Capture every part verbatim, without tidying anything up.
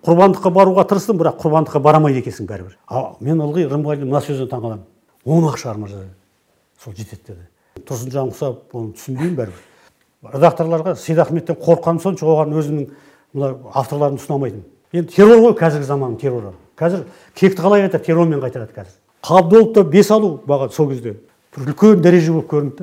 құрбандыққа баруға тырыстым, бірақ құрбандыққа барамайды екенсің бәрібір. А мен ылғи Рымбайдың мына сөзінен таңқаламын. он ақ шығар мырза. Сол жетеді деді. Тұрсынжан құсап, оны түсінбеймін бәрібір. Редакторларға Сейдахметтен қорыққаным сонша оған өзімнің мына авторларын ұсынамайтын. Енді террор ғой қазіргі заманның терроры. Қазір кекті қалай қайтады, террормен қайтарады қазір. Қабдоловта бес алу баға сол кезде бір үлкен дәреже болып көрінді.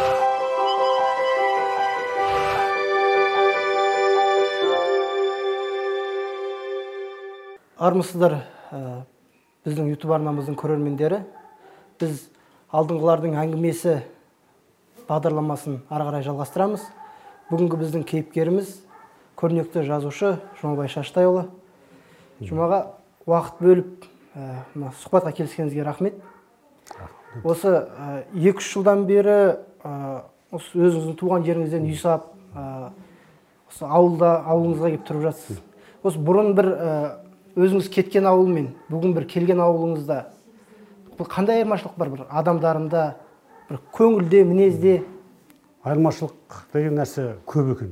Армысыздар, біздің YouTube арнамыздың көрермендері. Біз алдыңғылардың әңгімесі бағдарламасын ары қарай жалғастырамыз. Бүгінгі біздің кейіпкеріміз көрнекті жазушы Жұмабай Шаштайұлы. Жұмаға уақыт бөліп сұхбатқа келіскеніңізге рахмет. Осы екі үш жылдан бері өзіңіздің туған жеріңізден үй салып, осы ауылда ауылыңызға келіп тұрып жатсыз. Осы бұрын бір өзіңіз кеткен ауыл мен бүгін бір келген ауылыңызда қандай айырмашылық бар, бір адамдарында, бір көңілде, мінезде? Айырмашылық деген нәрсе көп екен.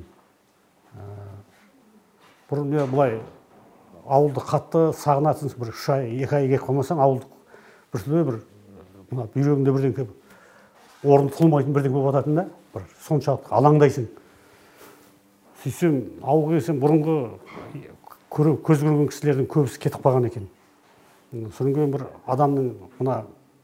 Бұрын мен былай ауылды қатты сағынатын, бір үш ай, екі ай келіп қалмасаң, ауылды біртүрлі бір мына бүйрегіңде бірден келіп орын тұтылмайтын бірден болып жататын да, бір соншалықты алаңдайсың. Сөйтсем ауылға келсем бұрынғы көз көрген кісілердің көбісі кетіп қалған екен. Содан кейін бір адамның мына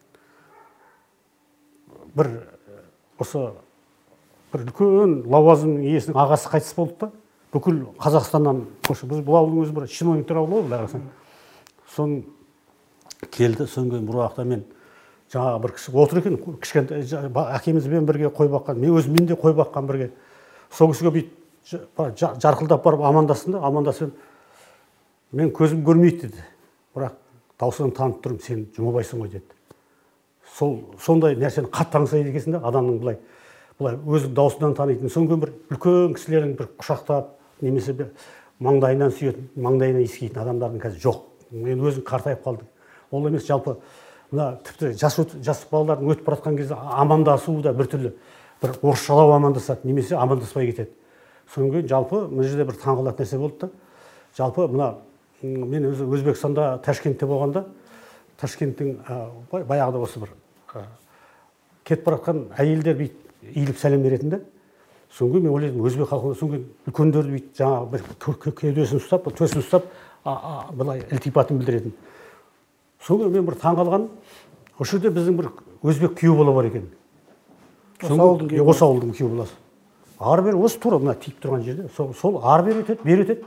бір осы бір үлкен лауазым иесінің ағасы қайтыс болды да, бүкіл Қазақстаннан көшіп, біз бұл ауылдың өзі бір чиновниктер ауылы ғой, қарасаң. Соны келді, содан кейін бір уақытта мен жаңағы бір кісі отыр екен, кішкентай әкемізбен бірге қой баққан, мен өзіммен де қой баққан бірге. Сол кісіге бүйтіп жарқылдап барып амандастым да, амандасып мен көзім көрмейді деді. Бірақ даусынан танып тұрмын, сен Жұмабайсың ғой деді. Сол сондай нәрсені қатты аңсайды екенсің да, адамның былай былай өзінің даусынан танитын. Содан кейін бір үлкен кісілердің бір құшақтап, немесе маңдайынан сүйетін, маңдайынан иіскейтін адамдардың қазір жоқ. Мен өзім қартайып қалдым. Ол емес, жалпы мына тіпті жас жас балалардың өтіп бара жатқан кезде амандасуы да біртүрлі бір орысшалау амандасады, немесе амандаспай кетеді. Содан кейін жалпы мына жерде бір таңғалатын нәрсе болды да. Жалпы мына мен өзі Өзбекстанда, Ташкентте болғанда, Ташкенттің баяғыда осы бір кетіп бара жатқан әйелдер бүйтіп иіліп сәлем беретін де. Содан кейін мен ойладым, өзбек халқында содан кейін үлкендерді бүйтіп жаңағы бір кеудесін ұстап, төсін ұстап, былай ілтипатын білдіретін. Содан кейін мен бір таңғалғаным, осы жерде біздің бір өзбек күйеу бала бар екен. Осы ауылдың күйеу баласы. Ары бері осы тура мына тиіп тұрған жерде, сол ары бері өтеді, бері өтеді.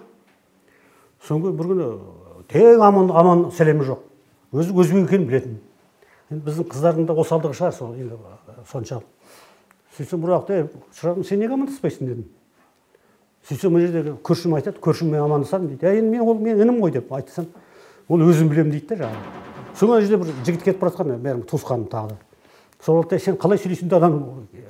Соңғы бір күні тең аман аман сәлемі жоқ. Өзі өзбек екенін білетін. Біздің қыздардың да осалдығы шығар сол енді соншалық. Сөйтсем бір уақытта сұрадым, сен неге амандаспайсың дедім. Сөйтсем мына жерде көршім айтады, көршіммен амандасамын дейді. Я енді мен ол мен інім ғой деп айтсам, ол өзім білемін дейді да жаңағы. Соңғы жерде бір жігіт кетіп бара жатқан, бәрім туысқаным тағы да. Сол уақытта сен қалай сөйлейсің де адам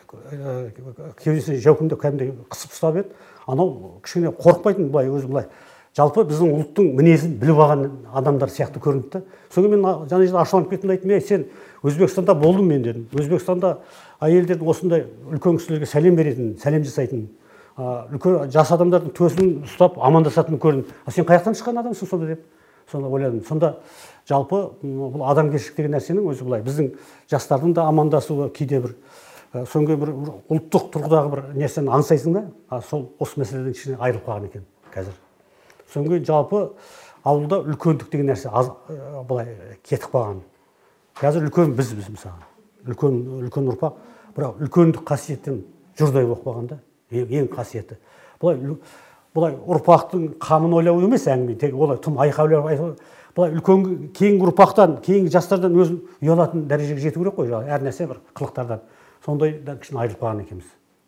кеудесіне жаукеңдеп кәдімгідей қысып ұстап еді. Анау кішкене қорықпайтын былай өзі былай. Жалпы біздің ұлттың мінезін біліп алған адамдар сияқты көрінді. Содан мен жаңа жерде ашуланып кеттім да айттым, сен Өзбекстанда болдым мен дедім. Өзбекстанда әйелдердің осындай үлкен кісілерге сәлем беретін, сәлем жасайтын, үлкен жас адамдардың төсін ұстап амандасатын көрдім. А сен қаяқтан шыққан адамсың сонда деп. Сонда ойладым. Сонда жалпы бұл адамгершілік деген нәрсенің өзі былай біздің жастардың да амандасуы кейде бір соңғы бір ұлттық тұрғыдағы бір нәрсені аңсайсың да, сол осы мәселеден кішкене айырылып қалған екен қазір. Содан кейін жалпы ауылда үлкендік деген нәрсе былай кетіп қалған. Қазір үлкен біз біз мысалы. Үлкен үлкен ұрпақ, бірақ үлкендік қасиеттен жұрдай болып қалған да, ең қасиеті. Былай былай ұрпақтың қамын ойлау емес әңгіме, тек олай тым айқайлап, былай үлкен кейінгі ұрпақтан, кейінгі жастардан өзін ұялатын дәрежеге жету керек қой, әр нәрсе бір қылықтардан. Сондайдан кішкене айырылып қалған екенбіз.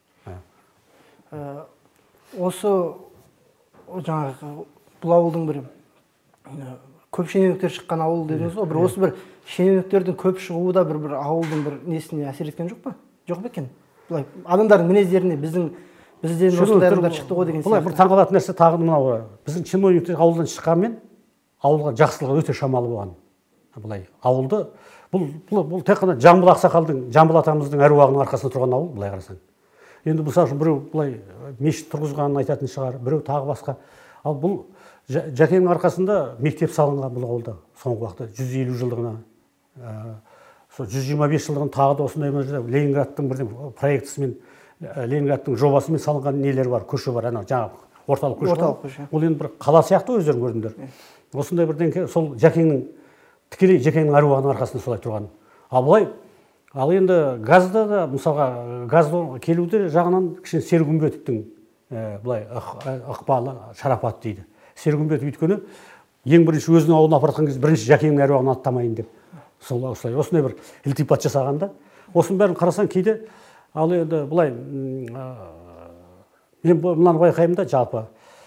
Осы жаңағы бұл ауылдың бір көп шенеуніктер шыққан ауыл дедіңіз ғой, бір осы бір шенеуніктердің көп шығуы да бір бір ауылдың бір несіне әсер еткен жоқ па? Жоқ па екен? Былай адамдардың мінездеріне біздің бізден осындай адамдар шықты ғой деген сияқты. Былай бір таңғалатын нәрсе тағы мынау, біздің чиновниктер ауылдан шыққанмен ауылға жақсылығы өте шамалы болған. Былай ауылды бұл бұл тек қана Жамбыл ақсақалдың, Жамбыл атамыздың әруағының арқасында тұрған ауыл, былай қарасаң. Енді мысалы үшін біреу былай мешіт тұрғызғанын айтатын шығар, біреу тағы басқа. Ал бұл Жәкеңнің арқасында мектеп салынған бұл ауылда соңғы уақытта жүз елу жылдығына. Сол жүз жиырма бес жылдығын тағы да осындай Ленинградтың бірден проектісімен, Ленинградтың жобасымен салынған нелер бар, көше бар, ана жаңағы орталық көше. Орталық көше. Ол енді бір қала сияқты өздерің көрдіңдер. Осындай бірден сол Жәкеңнің тікелей Жәкеңнің әруағының арқасында солай тұрған. Ал былай, ал енді газда да, мысалға, газды келуді жағынан кішкене Сергүмбетовтің былай ықпалы, шарапат дейді. Сергүмбетов өйткені ең бірінші өзінің ауылына апаратқан кезде бірінші Жәкеңнің әруағын аттамайын деп. Сол осылай, осындай бір ілтипат жасағанда. Осының бәрін қарасаң кейде, ал енді былай, мен мынаны байқаймын да, жалпы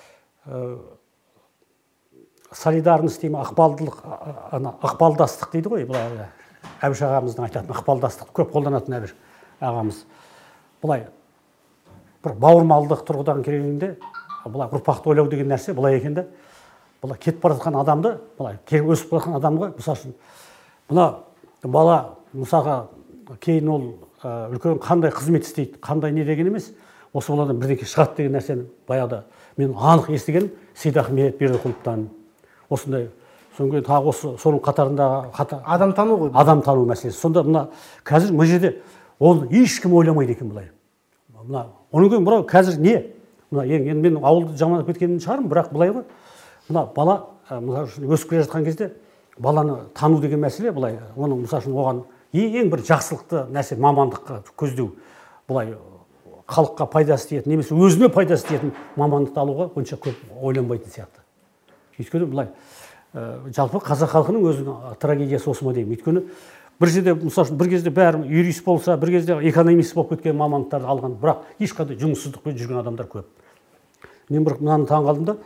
солидарность деймін, ықпалдылық, ықпалдастық дейді ғой, былай Әбіш ағамыздың айтатын ықпалдастық көп қолданатын Әбіш ағамыз. Былай бір бауырмалдық тұрғыдан келгенде, былай ұрпақты ойлау деген нәрсе былай екен де, былай кетіп бара жатқан адамды, былай өсіп бара жатқан адамға, мысалы үшін, мына бала мысалға кейін ол үлкен қандай қызмет істейді, қандай не деген емес, осы баладан бірдеңе шығады деген нәрсені баяғыда мен анық естіген Сейдахмет Бердіқұловтан. Осындай, содан тағы осы соның қатарындағы адам тану ғой. Адам тану мәселесі. Сонда мына қазір мына жерде оны ешкім ойламайды екен былай. Мына оның кейін мынау қазір не? Мына енді мен ауылды жамандап кеткенін шығармын, бірақ былай ғой. Мына бала мысалы үшін өсіп келе жатқан кезде баланы тану деген мәселе былай, оның мысалы үшін оған ең бір жақсылықты нәрсе мамандыққа көздеу. Былай халыққа пайдасы тиетін, немесе өзіне пайдасы тиетін мамандықты алуға онша көп ойланбайтын сияқты. Өйткені былай жалпы қазақ халқының өзінің трагедиясы осы ма деймін. Өйткені бір жерде мысалы үшін бір кезде бәрі юрист болса, бір кезде экономист болып кеткен мамандықтарды алған, бірақ ешқандай жұмыссыздықпен жүрген адамдар көп. Мен бір мынаны таңғалдым да,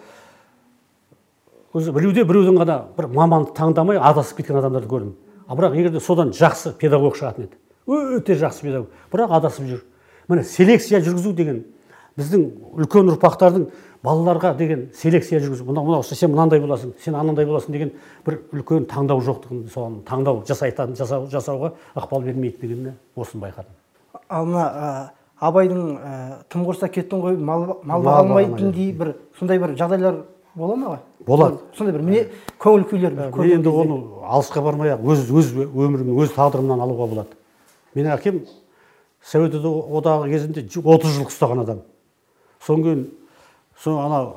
өзі біреуде біреудің ғана бір мамандық таңдамай адасып кеткен адамдарды көрдім. А бірақ егерде содан жақсы педагог шығатын еді, өте жақсы педагог, бірақ адасып жүр. Міне селекция жүргізу деген біздің үлкен ұрпақтардың балаларға деген селекция жүргізу. Мына сен мынандай боласың, сен анандай боласың деген бір үлкен таңдау жоқтығын, соған таңдау жасайтын жасау жасауға ықпал бермейді дегеніне осыны байқадым. Ал мына Абайдың тым құрса кеттің ғой, мал алмайтындей бір сондай бір жағдайлар бола ма? Болады. Сондай бір міне көңіл күйлер бар. Мен енді оны алысқа бармай-ақ өз өз өмірімнің өз тағдырымнан алуға болады. Менің әкем Совет одағы кезінде отыз жыл ұстаған адам. Содан кейін сол ана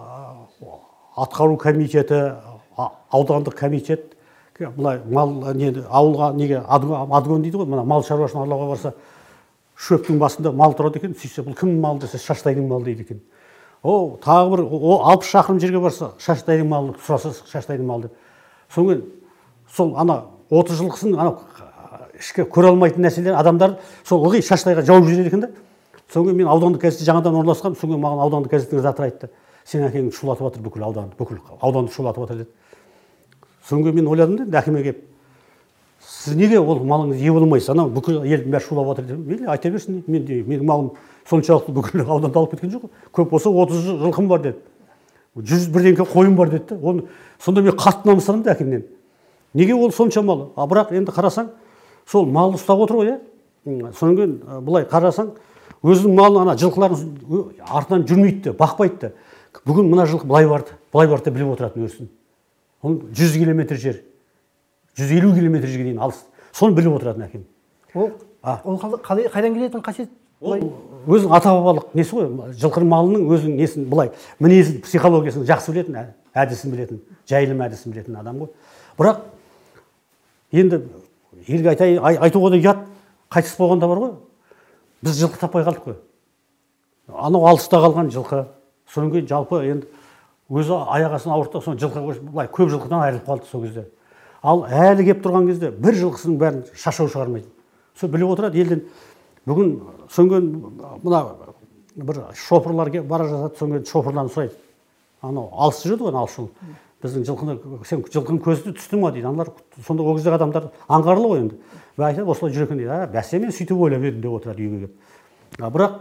атқару комитеті, аудандық комитет, былай мал не ауылға неге адгон дейді ғой, мына мал шаруашылығын аулауға барса, шөптің басында мал тұрады екен, сөйтсе бұл кімнің малы десе, Шаштайдың малы дейді екен. О, тағы бір алпыс шақырым жерге барса, Шаштайдың малы сұраса, Шаштайдың малы деп. Содан кейін сол ана отыз жылқысын ана ішке көре алмайтын нәрселер адамдар сол ылғи Шаштайға жауып жүреді екен да. Содан кейін мен аудандық газетте жаңадан орналасқам, содан кейін маған аудандық газеттің редакторы айтты, сен әкеңді шулатып жатыр бүкіл ауданды, бүкіл ауданды шулатып жатыр деді. Содан кейін мен ойладым да, әкеме келіп, сіз неге ол малыңыз ие болмайсыз, анау бүкіл елдің бәрі шулап жатыр дедім. Мейлі, айта берсін, мен менің малым соншалықты бүкіл ауданды алып кеткен жоқ. Көп болса отыз жылқым бар деді. жүз бірдеңке қойым бар деді. Оны сонда мен қатты намыстандым да әкемнен. Неге ол сонша мал? А бірақ енді қарасаң, сол малды ұстап отыр ғой, иә. Содан кейін былай қарасаң, өзінің малын ана жылқыларын артынан жүрмейді, бақпайды. Бүгін мына жылқы былай барды, былай барды біліп отыратын өрсін. Ол жүз километр жер, жүз елу километр жерге дейін алыс. Соны біліп отыратын әкем. Ол қайдан келетін қасиет? Өзінің ата-бабалық несі ғой, жылқының малының өзінің несін былай, мінезін, психологиясын жақсы білетін, әдісін білетін, жайылым әдісін білетін адам ғой. Бірақ енді елге айтуға да ұят, қайтыс болғанда бар ғой, біз жылқы таппай қалдық қой. Анау алыста қалған жылқы, содан кейін жалпы енді өзі аяғасын ауыртты, соны жылқы былай көп жылқыдан айырылып қалды сол кезде. Ал әлі келіп тұрған кезде бір жылқысының бәрін шашау шығармайды. Сол біліп отырады елден. Бүгін содан мына бір шопырлар бара жатады, содан шопырлан сұрайды. Анау алыс жүреді ғой, алыс жол. Біздің жылқыны, сен жылқының көзі түсті ма дейді. Аналар сонда ол кезде адамдар аңғарлы ғой енді. Và айтады, осылай жүр екен дейді. Бәсе мен сөйтіп ойлап едім деп отырады үйге келіп. Бірақ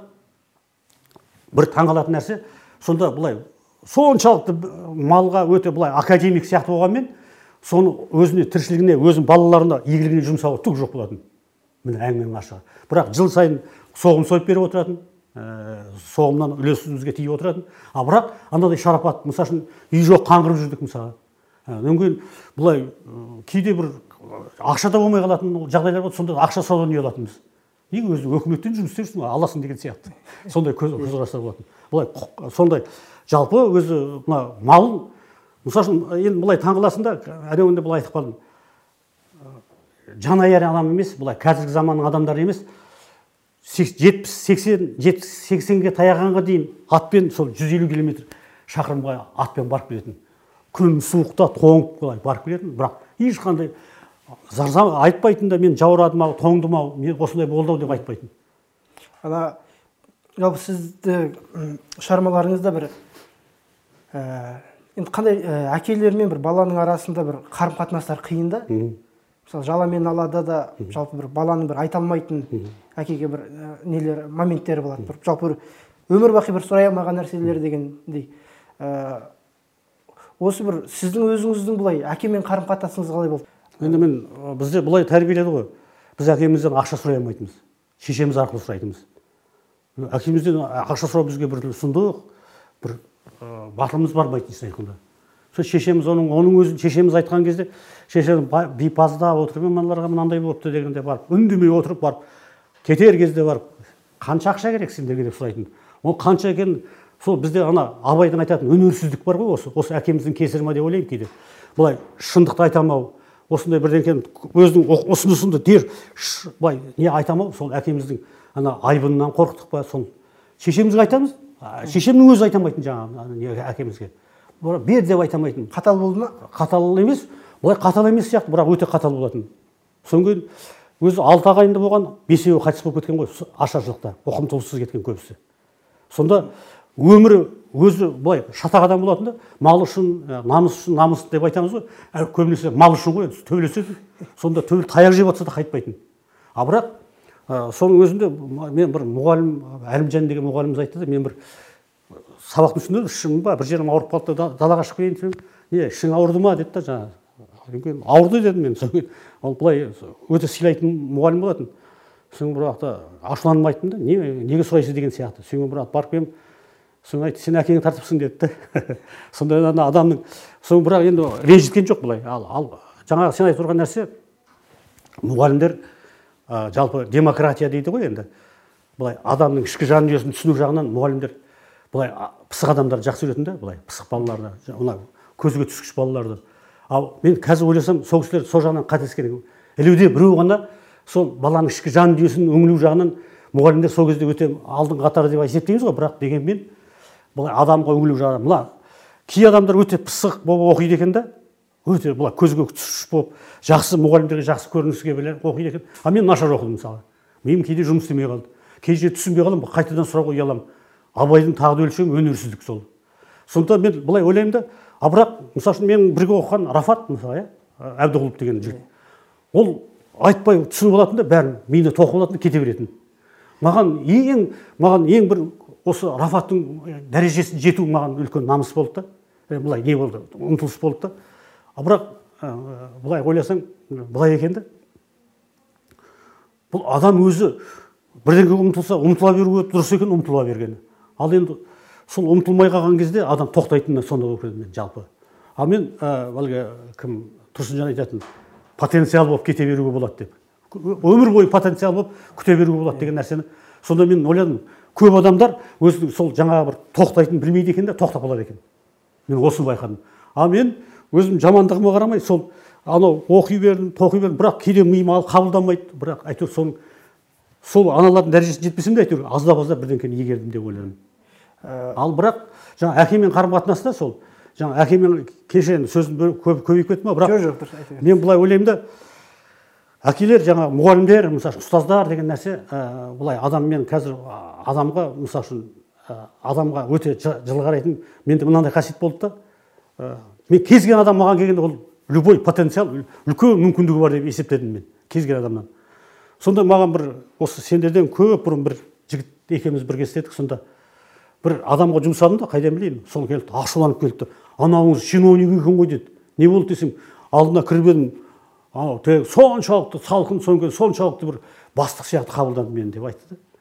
бір таңғалатын нәрсе, сонда былай соншалықты малға өте былай академик сияқты болғанмен, соны өзіне тіршілігіне, өзінің балаларына, игілігіне жұмсауға түк жоқ болатын. Міне әңгіменің ашығы. Бірақ жыл сайын соғым сойып беріп отыратын, соғымнан үлесімізге тиіп отыратын. А бірақ андай шарапат, мысалы үшін үй жоқ қаңғырып жүрдік мысалы. Одан кейін бұлай кейде бір ақша да болмай қалатын жағдайлар болды, сонда ақша саудан үй алатынбыз. Неге өзі өкіметтен жұмыс істеп жүрсің, аласың деген сияқты. Сондай көзқарастар болатын. Бұлай сондай жалпы өзі мына малын, мысалы үшін енді бұлай таңғаласың да, әнеуінде бұлай айтып қалдым. Жанайар адам емес, бұлай қазіргі заманның адамдары емес. жетпіс сексенге таяғанға дейін атпен сол жүз елу километр шақырымға атпен барып келетін. Күн суықта тоңып былай барып келетін, бірақ ешқандай зарзам айтпайтын да, мен жаурадым ау, тоңдым ау, мен осындай болды ау деп айтпайтын. Ана жалпы сізді шығармаларыңызда бір енді қандай әкелер мен бір баланың арасында бір қарым қатынастар қиын да. Мысалы жаламен алада да жалпы бір баланың бір айта алмайтын әкеге бір нелер моменттері болады. Бір жалпы өмір бақи бір сұрай алмаған нәрселер дегендей. Осы бір сіздің өзіңіздің бұлай әкемен қарым қатынасыңыз қалай болды? Енді мен бізде бұлай тәрбиеледі ғой. Біз әкемізден ақша сұрай алмайтынбыз. Шешеміз арқылы сұрайтынбыз. Әкемізден ақша сұрау бізге бір сұмдық, бір батылымыз бармайтын айтқанда. Сол шешеміз оның оның өзін шешеміз айтқан кезде шешем бейпазда отырып мыналарға мынандай болыпты дегенде барып үндемей отырып барып кетер кезде барып қанша ақша керек сендерге деп сұрайтын. Ол қанша екенін сол бізде ана абайдың айтатын өнерсіздік бар ғой, осы осы әкеміздің кесірі ме деп ойлаймын кейде. Былай шындықты айтамау, осындай бірден өзінің ұсынысында дер былай не айтамау, сол әкеміздің ана айбынынан қорықтық па, сол шешемізге айтамыз, шешемнің өзі айтамайтын жаңағы әкемізге. Бер деп айтамайтын. Қатал болды ма? Қатал емес, былай қатал емес сияқты, бірақ өте қатал болатын. Содан кейін өзі алты ағайынды болған, бесеуі қайтыс болып кеткен ғой, ашаршылықта, оқым-толыссыз кеткен көбісі. Сонда өмірі өзі былай шатақ адам болатын да, мал үшін, намыс үшін, намыс деп айтамыз ғой, көбінесе мал үшін ғой, төбелеседі. Сонда төбел таяқ жеп отса да қайтпайтын. А бірақ соның өзінде мен бір мұғалім, Әлімжан деген мұғаліміміз айтты да, мен бір сабақтың үстінде ішім ба, бір жерім ауырып қалды да, далаға шығып келейін десем, не, ішің ауырды ма деді да жаңағы. Ауырды дедім мен. Ол былай өте сыйлайтын мұғалім болатын. Соң бір уақытта ашуланып айттым да, неге сұрайсыз деген сияқты. Соң бір уақыт барып келіп, соң айтты, сен әкеңе тартыпсың деді да. Сондай адамның, соң бірақ енді ренжіткен жоқ былай. Ал жаңағы сен айтып тұрған нәрсе, мұғалімдер жалпы демократия дейді ғой енді. Былай адамның ішкі жан дүниесін түсіну жағынан мұғалімдер былай пысық адамдарды жақсы көретін да, былай пысық балаларды, мына көзге түскіш балаларды. Ал мен қазір ойласам, сол кісілер сол жағынан қателескен. Ілуде біреу ғана сол баланың ішкі жан дүниесін өңілу жағынан мұғалімдер сол кезде өте алдыңғы қатары деп есептейміз ғой, бірақ дегенмен былай адамға өңілу жағынан, мына кей адамдар өте пысық болып оқиды екен да, өте былай көзге түскіш болып, жақсы мұғалімдерге жақсы көрініске біле оқиды екен. А мен нашар оқыдым мысалы. Мен кейде жұмыс істемей қалды. Кейде түсінбей қалам, қайтадан сұрауға ұяламын. Абайдың тағы өлшемі өнерсіздік сол. Сондықтан мен былай ойлаймын да, а бірақ мысалы үшін мен бірге оқыған Рафат мысалы, Әбдіғұлов деген жігіт. Ол айтпай түсініп алатын да, бәрін миына тоқып алатын да, кете беретін. Маған ең маған ең бір осы Рафаттың дәрежесіне жету маған үлкен намыс болды да. Былай не болды? Ұмтылыс болды да. А бірақ былай ойласаң, былай екен да. Бұл адам өзі бірдеңеге ұмтылса, ұмтыла беруі дұрыс екен, ұмтыла бергені. Ал енді сол ұмтылмай қалған кезде адам тоқтайтынына сонда болып мен жалпы. Ал мен әлгі кім Тұрсынжан айтатын, потенциал болып кете беруге болады деп. Өмір бойы потенциал болып күте беруге болады деген нәрсені. Сонда мен ойладым, көп адамдар өзінің сол жаңағы бір тоқтайтын білмейді екен де, тоқтап қалады екен. Мен осыны байқадым. А мен өзім жамандығыма қарамай, сол анау оқи бердім, тоқи бердім, бірақ кейде миым алып қабылдамайды, бірақ әйтеуір соның сол аналардың дәрежесіне жетпесем де әйтеуір аздап-аздап бірдеңкені игердім деп ойладым. Ал бірақ жаңа әкемен қарым қатынаста сол жаңа әкемен кеше сөзін көбейіп кетті ма, бірақ мен былай ойлаймын да, әкелер жаңа мұғалімдер, мысалы ұстаздар деген нәрсе, былай адаммен қазір адамға мысалы үшін адамға өте жылы қарайтын, менде мынандай қасиет болды да, мен кез келген адам маған келгенде ол любой потенциал, үлкен мүмкіндігі бар деп есептедім мен кез келген адамнан. Сонда маған бір осы сендерден көп бұрын бір жігіт екеуміз бірге істедік, сонда бір адамға жұмсадым да, қайдан білейін, сол келді, ашуланып келді. Анауыңыз чиновник екен ғой деді. Не болды десем, алдына кіріп едім, соншалықты салқын, соншалықты бір бастық сияқты қабылданды мені деп айтты да.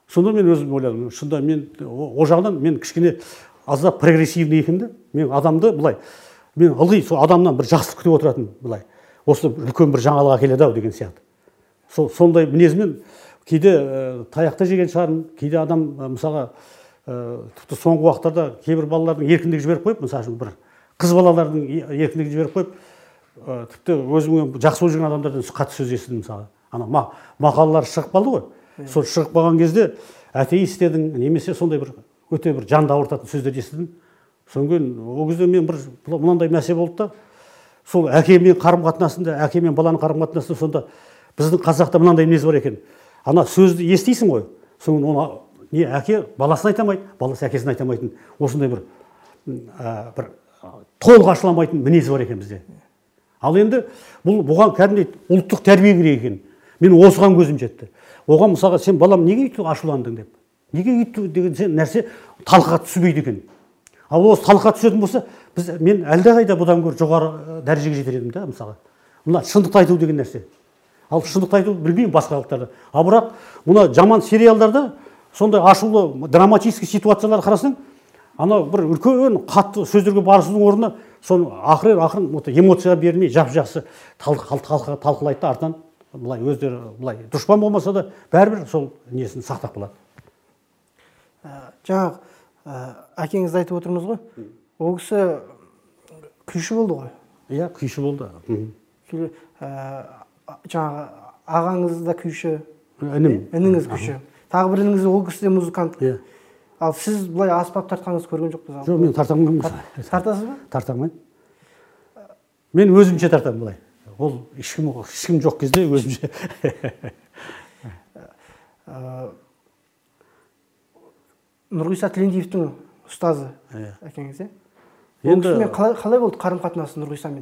сонда мен өзім ойладым, шында мен о жағынан мен кішкене аздап прогрессивный екенмін да. Мен адамды былай, мен ылғи сол адамнан бір жақсылық күтіп отыратын былай. Осы үлкен бір жаңалық әкеледі ау деген сияқты. Сол сондай мінезмен кейде таяқта жеген шығармын, кейде адам мысалға тіпті соңғы уақыттарда кейбір балалардың еркіндік жіберіп қойып, мысалы үшін бір қыз балалардың еркіндік жіберіп қойып, тіпті өзіме жақсы болып жүрген адамдардан қатты сөз естідім мысалы. Ана мақалалар шығып қалды ғой. Сол шығып қалған кезде атеист едің, немесе сондай бір өте бір жанды ауыртатын сөздер естідім. Содан кейін ол кезде мен бір мынандай мәселе болды да, сол әкемен қарым-қатынасында, әке мен баланың қарым-қатынасында сонда біздің қазақта мынандай мінез бар екен. Ана сөзді естисің ғой, соң оны не әке баласын айта алмайды, баласы әкесін айта алмайтын, осындай бір бір толық ашыламайтын мінез бар екен бізде. Ал енді бұл бұған кәдімгідей ұлттық тәрбие керек екен. Мен осыған көзім жетті. Оған мысалға сен балам неге өйтіп ашуландың деп. Неге өйтіп деген нәрсе талқыға түспейді екен. Ал осы талқыға түсетін болса, біз мен әлдеқайда бұдан гөрі жоғары дәрежеге жетер едім да, мысалға. Мына шындықты айту деген нәрсе. Ал шындықты айту білмеймін басқа халықтарда. А бірақ мына жаман сериалдарда сондай ашулы драматический ситуациялар қарасаң, ана бір үлкен қатты сөздерге барысудың орнына соны ақырын ақырын эмоция бермей жап-жақсы талқылайды да, артынан былай өздері былай дұшпан болмаса да бәрібір сол несін сақтап қалады. Жаңағы әкеңізді айтып отырмыз ғой. Ол кісі күйші болды ғой. Иә, күйші болды. Жаңағы ағаңыз да күйші, інім, ініңіз күйші. Тағы бір ініңіз ол кісі де музыкант. Иә. Ал сіз былай аспап тартқаныңыз көрген жоқпыз. Жоқ, мен тартамын. Тартасыз ба? Тартамын. Мен өзімше тартамын былай. Ол ешкім ешкім жоқ кезде өзімше. Нұрғиса Тілендиевтің ұстазы әкеңіз, е? Енді қалай болды қарым-қатынасы Нұрғисамен?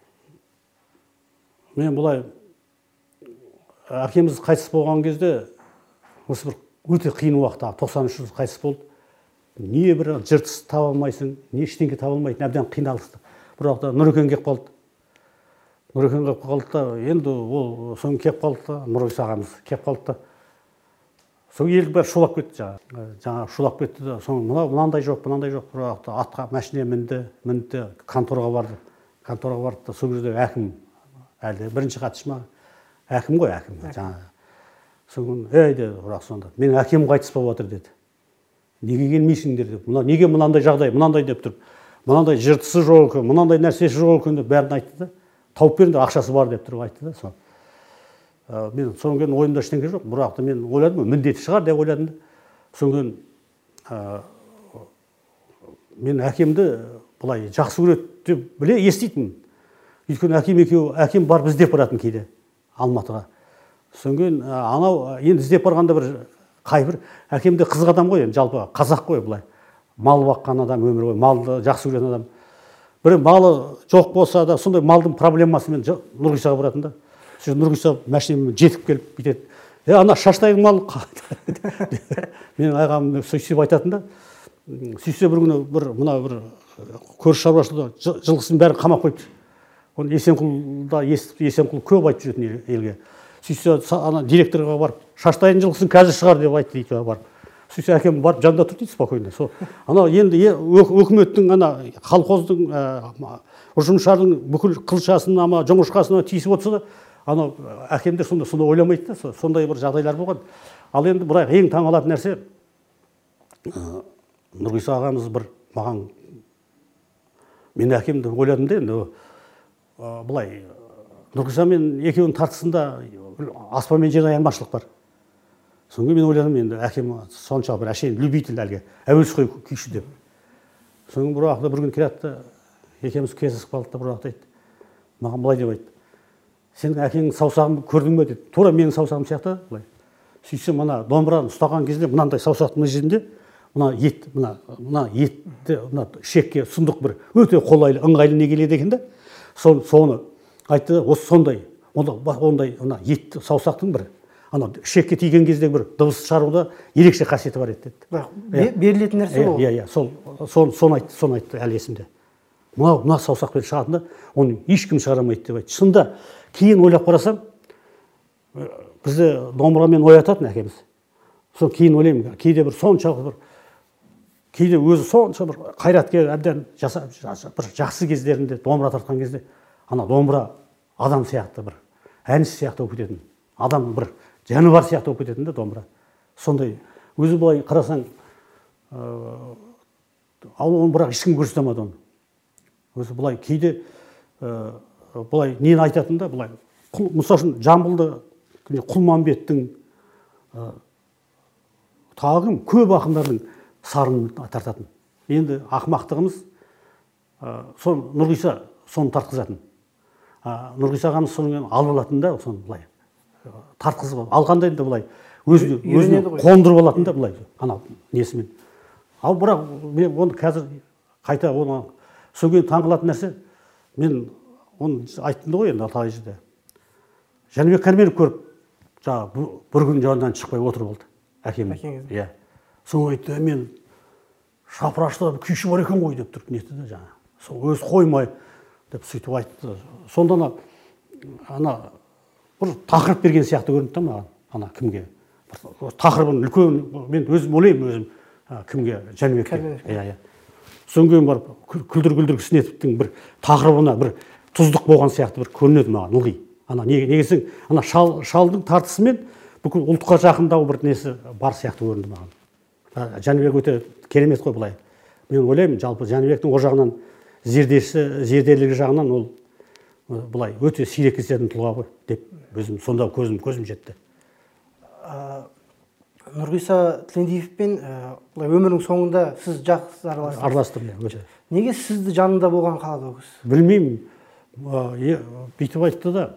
Мен бұлай әкеміз қайтыс болған кезде осы бір өте қиын уақытта тоқсан үш жыл қайтыс болды. Не бір жыртыс таба алмайсың, не ештеңе таба алмайтын, әбден қиналысты. Бір уақытта Нұрекең келіп қалды. Нұрекең келіп қалды да, енді ол соң келіп қалды да, Нұрғиса ағамыз келіп қалды да. Сол ел бәрі шулап кетті жаңа. Жаңа шулап кетті да, соң мынандай жоқ, мынандай жоқ. Бір уақытта атқа машине мінді, мінді, конторға барды. Конторға барды да, сол жерде әкім әлде бірінші хатшы ма? Әкім ғой, әкім жаңа. Соң ей деді, бірақ сонда менің әкем қайтыс болып жатыр деді. Неге келмейсіңдер деп. Мына неге мынандай жағдай, мынандай деп тұрып, мынандай жыртысы жоқ екен, мынандай нәрсесі жоқ екен деп бәрін айтты да. Тауып беріңдер, ақшасы бар деп тұрып айтты да. Сол. Мен содан кейін ойымда ештеңе жоқ. Бірақ та мен ойладым, міндеті шығар деп ойладым да. Содан кейін мен әкемді былай жақсы көреді деп біле еститін. Өйткені әкем екеуі, әкем бар біз іздеп баратын кейде Алматыға. Содан кейін анау енді іздеп барғанда бір қайбір әкем де қызық адам ғой, енді жалпы қазақ қой былай. Мал баққан адам, өмір ғой, малды жақсы көретін адам. Бір малы жоқ болса да сондай малдың проблемасымен Нұрғисаға баратын да. Нұрғиса машинамен жетіп келіп бүйтеді. Е, ана шаштайдың малы мен ағам сөйтіп айтатын да. Сөйтсе бір күні бір мына бір көрші шаруашылықта жылқысын бәрін қамап қойыпты. Оны Есенқұлда естіп, Есенқұл көп айтып жүретін елге. Сөйтсе ана директорға барып, шаштайдың жылқысын қазір шығар деп айтты дейді барып. Сөйтсе әкем барып жанында тұр дейді спокойно. Сол ана енді өкіметтің ана колхоздың ұжымшардың бүкіл қылшасын ама жоңышқасына тиісіп отырса да, ана әкемдер сонда сонда ойламайды да, сондай бір жағдайлар болған. Ал енді бірақ ең таң қалатын нәрсе Нұрғиса ағамыз бір маған мен әкемді ойладым да енді былай Нұрғиса мен екеуінің тартысында аспан мен жердің айырмашылық бар. Соңғы мен ойладым енді әкем сонша бір әшейін любитель әлгі әуесқой күйші деп. Соңғы бір уақытта бір күн келатты, екеуміз кездесіп қалдық та бір уақытта айтты. Маған былай деп айтты. Сенің әкеңнің саусағын көрдің бе деді. Тура менің саусағым сияқты былай. Сөйтсем мына домбыраны ұстаған кезде мынандай саусақтың жерінде мына ет, мына мына етті мына шекке сұндық бір өте қолайлы, ыңғайлы не келеді екен да. Соны айтты, осы сондай, ондай мына ет саусақтың бір ана шекке тиген кезде бір дыбыс шығаруда ерекше қасиеті бар еді деді. Берілетін нәрсе ол. Иә, иә, сол соны айтты, соны айтты әлі есімде. Мына мына саусақпен шығатында оны ешкім шығара алмайды деп айтты. Шынында кейін ойлап қарасам, бізді домбырамен оятатын әкеміз. сол кейін ойлаймын, кейде бір соншалық бір кейде өзі сонша бір қайраткер әбден жасап бір жақсы кездерінде домбыра тартқан кезде ана домбыра адам сияқты бір әнші сияқты болып кететін, адам бір жаны бар сияқты болып кететін де домбыра. Сондай өзі былай қарасаң, ал оны бірақ ешкім көрсете алмады оны. Өзі былай кейде былай нені айтатын да, былай мысалы үшін Жамбылды Құлманбеттің тағы көп ақындардың сарын тартатын. Енді ақымақтығымыз сол Нұрғиса соны тартқызатын. Нұрғиса ағамыз сонымен алып алатын да, соны былай тартқызып алғанда енді былай өзіне қондырып алатын да былай ана несімен. Ал бірақ мен оны қазір қайта оны сол кейін таңғалатын нәрсе, мен оны айттым ғой енді талай жерде. Жәнібек Кәрменов көріп, жаңағы бір күн жанынан шықпай отырып алды әкем. Иә. Соны айтты, мен шапырашта күйші бар екен ғой деп тұрып нетті де жаңа. Сол өзі қоймай деп сөйтіп айтты. Сонда ана ана бір тақырып берген сияқты көрінді да маған, ана кімге. Тақырыбын үлкен, мен өзім ойлаймын өзім кімге, Жәнібекке. Иә, иә. Содан кейін барып күлдір-күлдір кісінетіптің бір тақырыбына бір тұздық болған сияқты бір көрінеді маған ылғи. Ана негесің, ана шалдың тартысымен бүкіл ұлтқа жақындау бір несі бар сияқты көрінді маған. Жәнібек өте керемет қой былай. Мен ойлаймын, жалпы Жәнібектің о жағынан зердесі, зерделігі жағынан ол былай өте сирек кездесетін тұлға ғой деп өзім сонда көзім көзім жетті. Нұрғиса Тілендиевпен былай өмірінің соңында сіз жақсы араластыңыз. Араластым, өте. Неге сізді жанында болған қалады ол кісі? Білмеймін. Бүйтіп айтты да,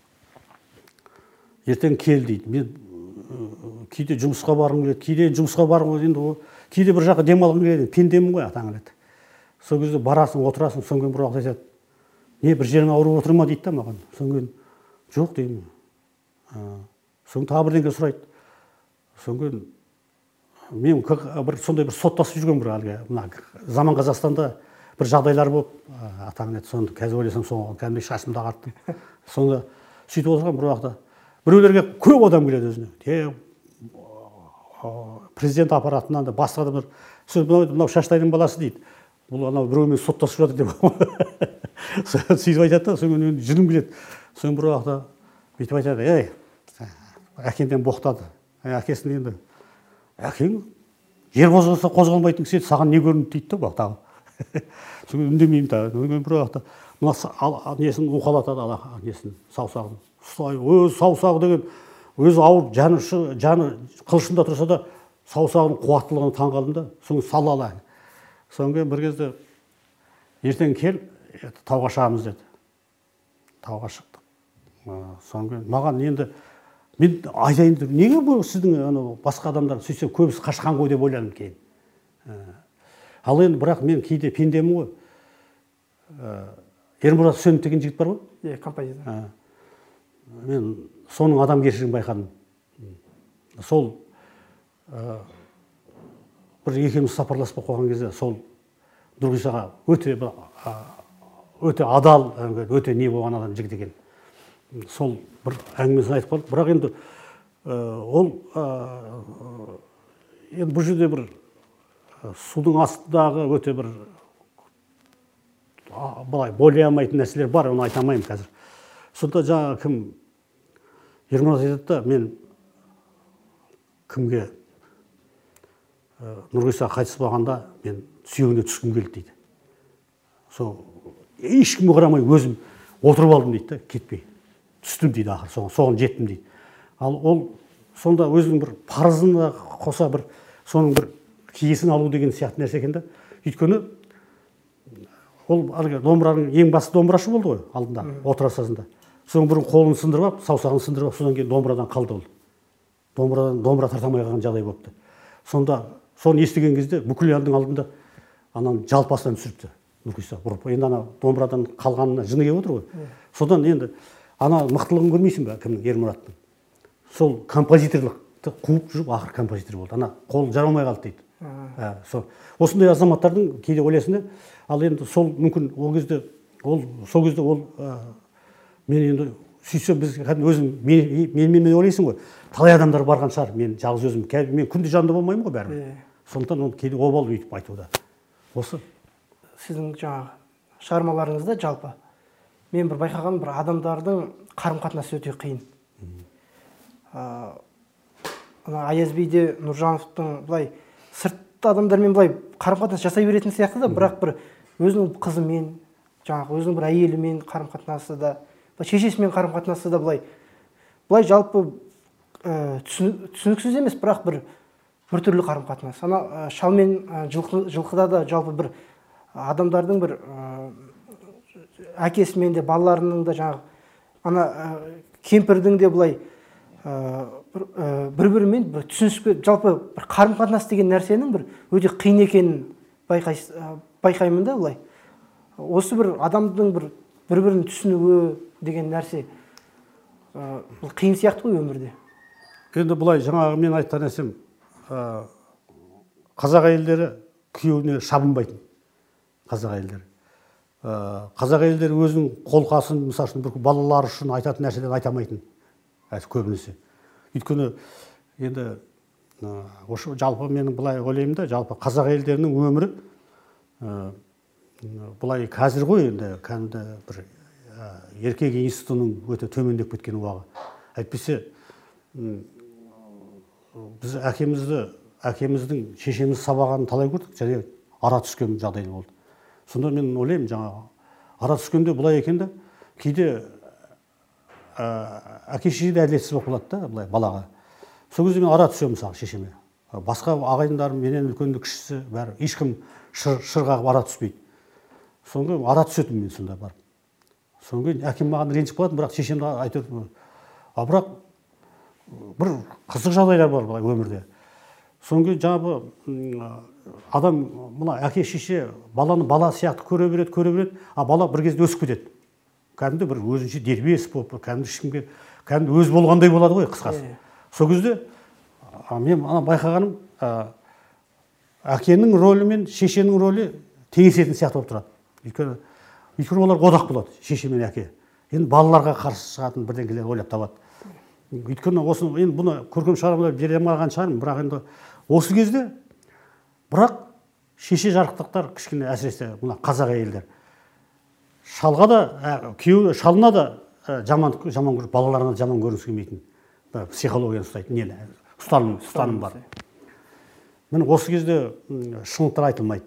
ертең кел дейді. Мен кейде жұмысқа барғым келеді, кейде жұмысқа барғым келеді, кейде бір жаққа демалғым келеді, пендемін ғой атаң келеді. Сол кезде барасың, отырасың, содан кейін бір уақыт айтады, не бір жерің ауырып отыр ма дейді да маған. Содан кейін жоқ деймін. Содан тағы бірдеңе сұрайды. Содан кейін мен бір сондай бір соттасып жүрген бір әлгі мына заман Қазақстанда бір жағдайлар болып атаң еді. Сонда қазір ойласам соған кәдімгідей шашымды ағарттым. Сонда сөйтіп отырған бір уақытта біреулерге көп адам келеді өзіне. Президент аппаратынан да басқа адамдар мынау Шаштайдың баласы дейді. Бұл анау біреумен соттасып жатыр деп. Сөйтіп айтады да, содан кейін жүнім келеді. Содан бір уақытта бүйтіп айтады, ей, әкемден боқтады. Әкесін енді, әкең жер қозғалса қозғалмайтын кісі еді, саған не көрінді дейді да тағы. Содан үндемеймін тағы. Бір уақытта мына несін уқалатады, несін саусағын. Өз саусағы деген өзі ауыр, жаны жаны қылышында тұрса да саусағының қуаттылығына таңғалдым да, соны салалы. Содан кейін бір кезде ертең кел, тауға шығамыз деді. Тауға шықтық. Содан кейін маған енді мен айтайын деп, неге бұл сіздің басқа адамдар сөйтсе көбісі қашқан ғой деп ойладым кейін. Ал енді бірақ мен кейде пендемін ғой. Ермұрат Үсенов деген жігіт бар ғой? Иә, композитор. Мен соның адамгершілігін байқадым. Сол бір екеуміз сапарласпай қойған кезде сол Нұрғисаға өте өте адал, өте не болған адам жігіт екен. Сол бір әңгімесін айтып қалдық. Бірақ енді ол енді бұл жерде бір судың астындағы өте бір былай бойлай алмайтын нәрселер бар, оны айта алмаймын қазір. Сонда жаңа кім Ермұрат айтады да, мен кімге Нұрғиса қайтыс болғанда мен сүйегіне түскім келді дейді. Сол ешкімге қарамай өзім отырып алдым дейді, кетпей. Түстім дейді ақыр, соған жеттім дейді. Ал ол сонда өзінің бір парызына қоса бір соның бір киесін алу деген сияқты нәрсе екен да. Өйткені ол домбыраның ең басты домбырашы болды ғой алдында, отырар сазында. Соның бірін қолын сындырып алып, саусағын сындырып алып, содан кейін домбырадан қалды ол. Домбырадан домбыра тарта алмай қалған жағдай болыпты. Сонда соны естіген кезде бүкіл елдің алдында ананы жалпасынан түсіріпті Нұрғиса ұрып. Енді ана домбырадан қалғанына жыны келіп отыр ғой. Содан енді ана мықтылығын көрмейсің бе кімнің, Ермұраттың. Сол композиторлықты қуып жүріп ақыр композитор болды. Ана қолы жарамай қалды дейді. Осындай азаматтардың кейде ойлайсың, ал енді сол мүмкін ол кезде ол сол кезде ол мен енді сөйтсем біз өзің менімен ойлайсың ғой, талай адамдар барған шығар, мен жалғыз өзім, мен күнде жанында болмаймын ғой бәрібір. Сондықтан оны кейде обал өйтіп айтуда. Осы. Сіздің жаңағы шығармаларыңызда жалпы мен бір байқаған бір адамдардың қарым-қатынасы өте қиын. Ана Аяз биде Нұржановтың былай сыртты адамдармен былай қарым-қатынас жасай беретін сияқты да, бірақ бір өзінің қызымен, жаңағы өзінің бір әйелімен қарым-қатынасы да, шешесімен қарым-қатынасы да былай былай жалпы түсініксіз емес, бірақ бір біртүрлі қарым-қатынас. Ана шал мен жылқыда да жалпы бір адамдардың бір әкесімен де, балаларының да, жаңағы ана кемпірдің де былай бір-бірімен бір түсініспе, жалпы бір қарым-қатынас деген нәрсенің бір өте қиын екенін байқаймын да былай. Осы бір адамдың бір бір-бірін түсінуі деген нәрсе бұл қиын сияқты ғой өмірде. Енді бұлай жаңағы мен айтқан нәрсем, қазақ әйелдері күйеуіне шабынбайтын. Қазақ әйелдері. Қазақ әйелдері өзінің қолқасын, мысалы үшін бір балалар үшін айтатын нәрселерді айтамайтын. Көбінесе. Өйткені енді жалпы менің былай ойлаймын да, жалпы қазақ әйелдерінің өмірі бұлай қазір ғой, енді кәдімгі бір еркек институтының өте төмендеп кеткен уағы. Әйтпесе біз әкемізді, әкеміздің шешеміз сабағанын талай көрдік, және ара түскен жағдай болды. Сонда мен ойлаймын, жаңағы ара түскенде бұлай екен да, кейде әке шеше де әділетсіз болып қалады да, былай балаға. Сол кезде мен ара түсемін мысалы шешеме. Басқа ағайындарым, менен үлкенді кішісі бәрі, ешкім шырғағып ара түспейді. Соңғы ара түсетін мен сонда барып. Соңғы әкем маған ренжіп қалатын, бірақ шешемді айтып, а бірақ бір қызық жағдайлар бар былай өмірде. Соңғы жаңағы адам, мына әке шеше баланы бала сияқты көре береді, көре береді, а бала бір кезде өсіп кетеді. Кәдімгі бір өзінше дербес болып, кәдімгі ешкімге, кәдімгі өз болғандай болады ғой қысқасы. Сол кезде мен ана байқағаным, әкенің рөлі мен шешенің рөлі теңесетін сияқты болып тұрады. Өйткені өйткені олар одақ болады, шеше мен әке. Енді балаларға қарсы шығатын бірдеңелер ойлап табады. Өйткені осы енді бұны көркем шығармалар бере алмаған шығармын, бірақ енді осы кезде бірақ шеше жарықтықтар кішкене әсіресе мына қазақ әйелдер шалға да, күйеу шалына да жаман жаман көріп, балаларына жаман көрінгісі келмейтін психологияны ұстайтын нені ұстаным ұстаным бар. Міне осы кезде шындықтар айтылмайды.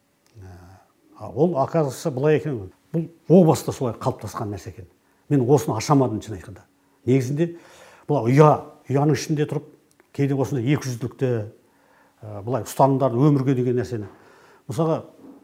Ол оказывается былай екен, бұл о баста солай қалыптасқан нәрсе екен. Мен осыны ашамадым шын айтқанда. Негізінде бұл ұя, ұяның ішінде тұрып, кейде осындай екі жүзділікті былай ұстанымдарды өмірге деген нәрсені. Мысалға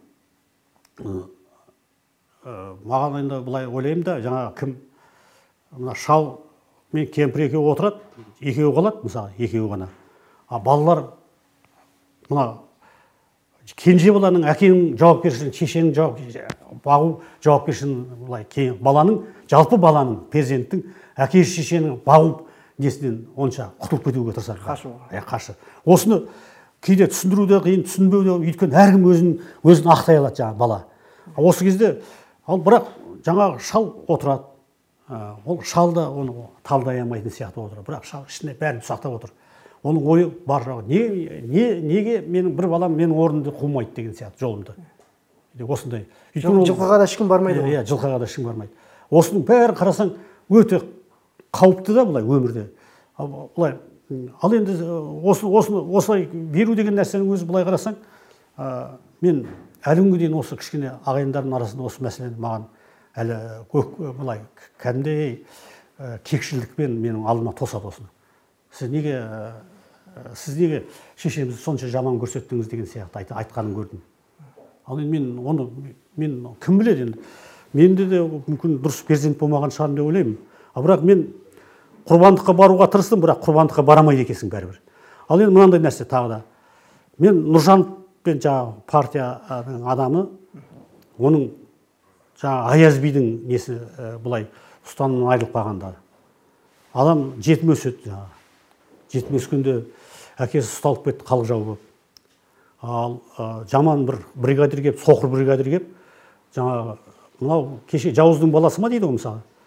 маған енді былай ойлаймын да, жаңағы кім мына шал мен кемпір екеуі отырады, екеуі қалады, мысалы, екеуі ғана. А балалар мына кенже баланың әкенің жауапкершілігін, шешенің жауапкершілігін, бағу жауапкершілігін былай баланың, жалпы баланың, перзенттің әке шешенің бағу несінен онша құтылып кетуге тырысады. Қашу. Қашы. Осыны кейде түсіндіру де қиын, түсінбеу де, өйткені әркім өзін өзін ақтай алады жаңағы бала. Осы кезде ал бірақ жаңағы шал отырады. Ол шал да оны талдай алмайтын сияқты отырады. Бірақ шал ішіне бәрін сақтап отыр. Оның ойы бар жағы. Не, не, неге менің бір балам менің орнымды қумайды деген сияқты жолымды. Осындай. Жылқыға да ешкім бармайды ғой. Иә, жылқыға да ешкім бармайды. Осының бәрін қарасаң өте қауіпті да былай өмірде. Былай ал енді осы осыны осылай беру деген нәрсенің өзі былай қарасаң, мен әлі күнге дейін осы кішкене ағайындардың арасында осы мәселені маған әлі көк былай кәдімгідей кекшілдікпен менің алдыма тосады осыны. Сіз неге сіз неге шешемізді сонша жаман көрсеттіңіз деген сияқты айтқанын көрдім. Ал енді мен оны мен кім біледі енді. Менде де мүмкін дұрыс перзент болмаған шығар деп ойлаймын. А бірақ мен құрбандыққа баруға тырыстым, бірақ құрбандыққа барамайды екенсің бәрібір. Ал енді мынандай нәрсе тағы да. Мен Нұржановпен жаңағы партияның адамы, оның жаңағы Аяз бидің несі былай ұстанымынан айырылып қалғанда. Адам жетім өседі жаңағы. Жетім өскенде әкесі ұсталып кетті халық жауы болып. Ал жаман бір бригадир келіп, соқыр бригадир келіп, жаңағы мынау кеше жауыздың баласы ма дейді ғой мысалы.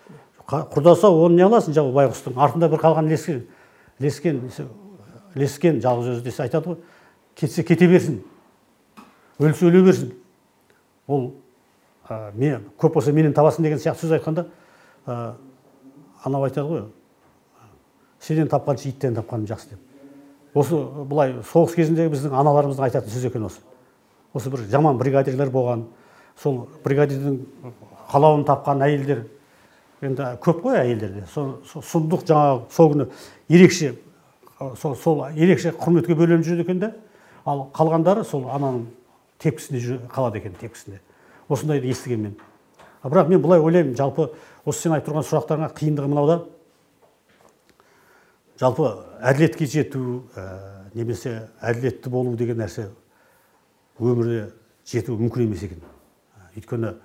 құрдаса оны не аласың жабы байғұстың артында бір қалған лескен лескен лескен жалғыз өзі десе айтады ғой, кетсе кете берсін, өлсе өле берсін. Ол мен көп болса менен табасын деген сияқты сөз айтқанда, анау айтады ғой, сенен тапқанша иттен тапқаным жақсы деп. Осы бұлай соғыс кезіндегі біздің аналарымыздың айтатын сөз екен осы. Осы бір жаман бригадирлер болған, сол бригадирдің қалауын тапқан әйелдер, енді көп қой әйелдерде. Сұмдық жаңағы сол күні ерекше сол ерекше құрметке бөленіп жүреді екен де, ал қалғандары сол ананың тепкісінде қалады екен, тепкісінде. Осындайды естіген мен. Бірақ мен бұлай ойлаймын, жалпы осы сен айтып тұрған сұрақтарыңа қиындығы мынауда. Жалпы әділетке жету, немесе әділетті болу деген нәрсе өмірде жету мүмкін емес екен. Өйткені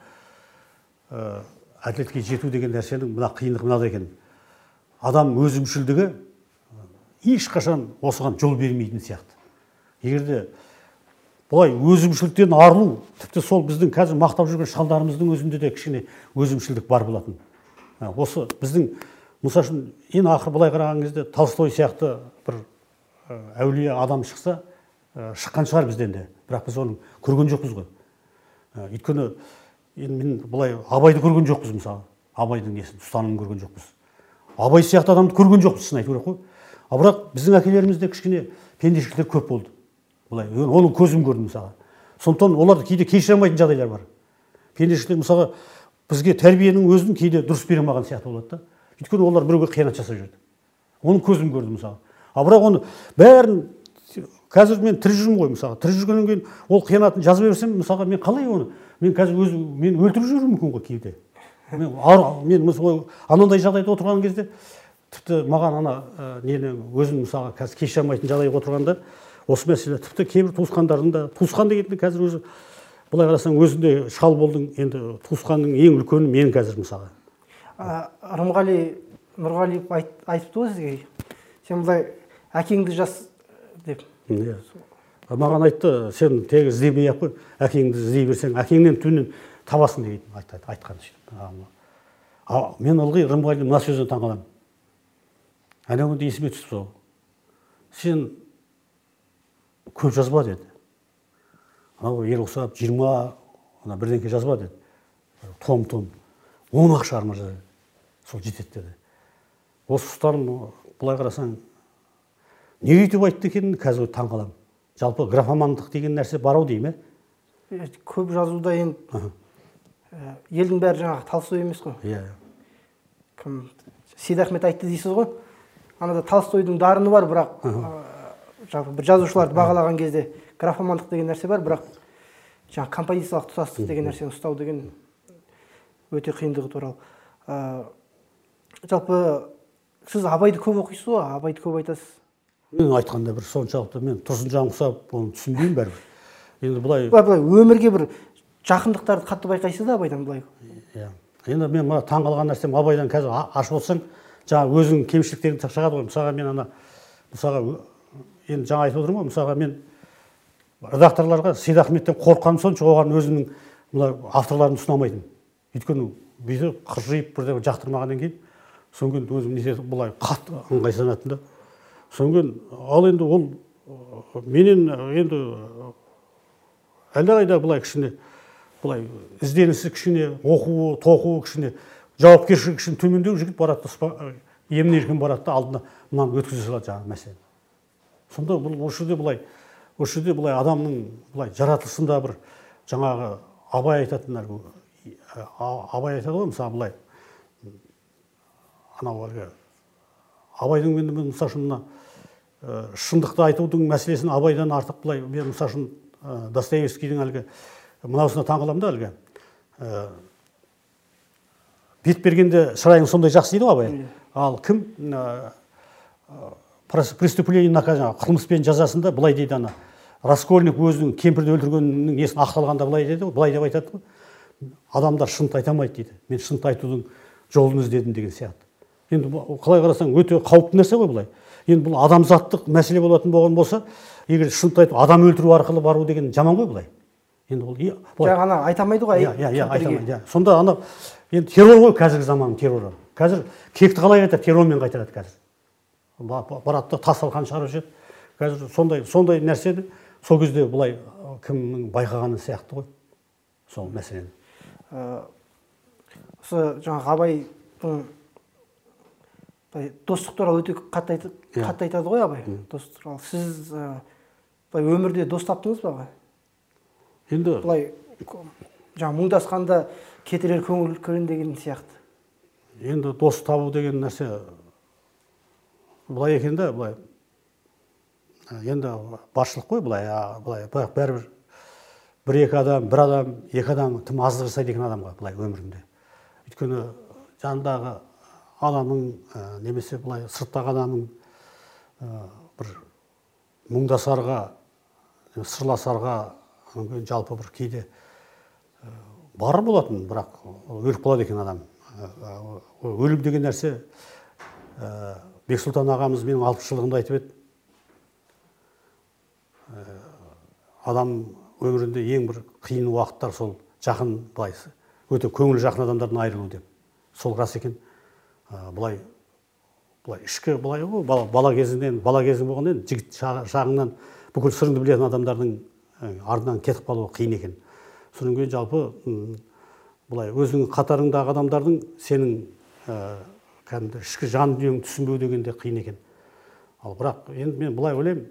әділетке жету деген нәрсенің мына қиындығы мынада екен. Адам өзімшілдігі ешқашан осыған жол бермейтін сияқты. Егерде бұлай өзімшілдіктен арылу, тіпті сол біздің қазір мақтап жүрген шалдарымыздың өзінде де кішкене өзімшілдік бар болатын. Осы біздің, мысал үшін, ең ақыр былай қараған кезде Толстой сияқты бір әулие адам шықса, шыққан шығар бізден де. Бірақ біз оны көрген жоқпыз ғой. Өйткені мен былай Абайды көрген жоқпыз мысалы. Абайдың несін, ұстанымын көрген жоқпыз. Абай сияқты адамды көрген жоқпыз, шын айту керек қой. А бірақ біздің әкелерімізде кішкене пендешіліктер көп болды. Бұлай, оның көзім көрдім мысалы. Сондықтан оларды кейде кешіре алмайтын жағдайлар бар. Пендешіліктер мысалы бізге тәрбиенің өзін кейде дұрыс бере алмаған сияқты болады да. Өйткені олар біреуге қиянат жасап жүрді. Оның көзім көрдім мысалы. А бірақ оны бәрін қазір мен тірі жүрмін ғой мысалы. Тірі жүргеннен кейін ол қиянатын жазып берсем, мысалға мен қалай оны? Мен қазір өзім мен өлтіріп жіберуім мүмкін ғой кейде. Мен мен мысалы анандай жағдайда отырған кезде тіпті маған ана нені өзім мысалға қазір кешіре алмайтын жағдайға отырғанда осы мәселе тіпті кейбір туысқандардың да, туысқан дегенде қазір өзі былай қарасаң өзінде шал болдың, енді туысқанның ең үлкені мен қазір мысалы. Рымғали Нұрғалиев айтыпты ғой сізге, сен былай әкеңді жас деп. Маған айтты, сен тегі іздемей-ақ қой, әкеңді іздей берсең, әкеңнен түнін табасың деген айтқан сөйтіп. Мен ылғи Рымғали мына сөзден таңғаламын. Әнеуінде есіме түсіп сол. Сен көп жазба деді. Анау ер ұқсап жиырма бірдеңке жазба деді. Том-том. Он-ақ шығарма жазды. Сол жетеді деді. Осы ұстарым бұлай қарасаң, не өйтіп айтты екенін қазір таңғаламын. Жалпы графомандық деген нәрсе бар ау деймін. Көп жазуда енді елдің бәрі жаңағы Толстой емес қой. Иә. Кім Сейдахмет айтты дейсіз ғой. Анада Толстойдың дарыны бар, бірақ бір жазушыларды бағалаған кезде графомандық деген нәрсе бар, бірақ жаңағы композициялық тұтастық деген нәрсені ұстау деген өте қиындығы туралы. Жалпы сіз Абайды көп оқисыз ғой, Абайды көп айтасыз. Мен айтқанда бір соншалықты мен Тұрсынжан ұқсап, оны түсінбеймін бәрібір. Енді бұлай былай өмірге бір жақындықтарды қатты байқайсыз да Абайдан былай. Иә. Енді мен мына таңғалған нәрсем Абайдан қазір ашып отырсаң, жаңа өзінің кемшіліктерін шығады ғой. Мысалға мен ана мысалға енді жаңа айтып отырмын ғой, мысалға мен редакторларға Сейдахметтен қорыққаным сонша, оған өзімнің мына авторларымды ұсынамайтын. Өйткені бүйтіп қыржиып бірдеңе жақтырмағаннан кейін, содан кейін өзім неше бұлай қатты ыңғайсызданатын да. Содан кейін ал енді ол менен енді әлдеқайда бұлай кішкене бұлай ізденісі кішкене, оқуы, тоқуы кішкене, жауапкершілігі кішкене төмендеу жігіт барады, емін-еркін барады да алдына мынаны өткізе салады жаңағы мәселені. Сонда бұл осы жерде бұлай, осы жерде бұлай адамның бұлай жаратылысында бір жаңағы Абай айтатын әлгі Абай айтады ғой, мысалы бұлай анау әлгі Абайдың мен мысалы үшін мына шындықты айтудың мәселесін Абайдан артық бұлай мен мысалы үшін Достоевскийдің әлгі мынаусына таңғаламын да әлгі бет бергенде шырайың сондай жақсы дейді ғой Абай. Ал кім преступление наказание қылмыспен жазасында былай дейді ана Раскольник өзінің кемпірді өлтіргенінің несін ақталғанда былай дейді, былай деп айтады ғой. Адамдар шындықты айта алмайды дейді. Мен шындықты айтудың жолын іздедім деген сияқты. Енді қалай қарасаң өте қауіпті нәрсе ғой бұлай. Енді бұл адамзаттық мәселе болатын болған болса, егер шындықты айту, адам өлтіру арқылы бару деген жаман ғой бұлай. Енді ол жаңа ана айта алмайды ғой. Иә, иә, айта алмайды. Сонда ана енді террор ғой қазіргі заманның терроры. қазір кекті қалай қайтады, террормен қайтарады қазір. Барады да тас талқан шығарып жібереді. Қазір сондай сондай нәрсені сол кезде былай кімнің байқағаны сияқты ғой сол мәселені. Осы жаңағы Абайдың достық туралы өте қатты айтады ғой Абай. Достық туралы. Сіз былай өмірде дос таптыңыз ба? Енді былай жаңа мұңдасқанда кетірер көңіл көрін деген сияқты. Енді дос табу деген нәрсе былай екен да, былай енді баршылық қой былай, былай бірақ бәрібір бір екі адам, бір адам, екі адам тым аздық жасайды екен адамға былай өмірінде. Өйткені жанындағы адамның немесе былай сырттағы адамның бір мұңдасарға, сырласарға жалпы бір кейде бар болатын, бірақ өліп қалады екен адам. Өлім деген нәрсе Бексұлтан ағамыз менің алпыс жылдығында айтып еді. Адам өмірінде ең бір қиын уақыттар сол жақын, былай өте көңілі жақын адамдардан айырылу деп. Сол рас екен. Былай былай ішкі былай ғой, бала кезінен, бала кезің болғаннан жігіт шағыңнан бүкіл сырыңды білетін адамдардың ардынан кетіп қалуы қиын екен. Содан кейін жалпы былай өзіңнің қатарыңдағы адамдардың сенің кәдімгі ішкі жан дүниеңді түсінбеу деген де қиын екен. Ал бірақ енді мен былай ойлаймын,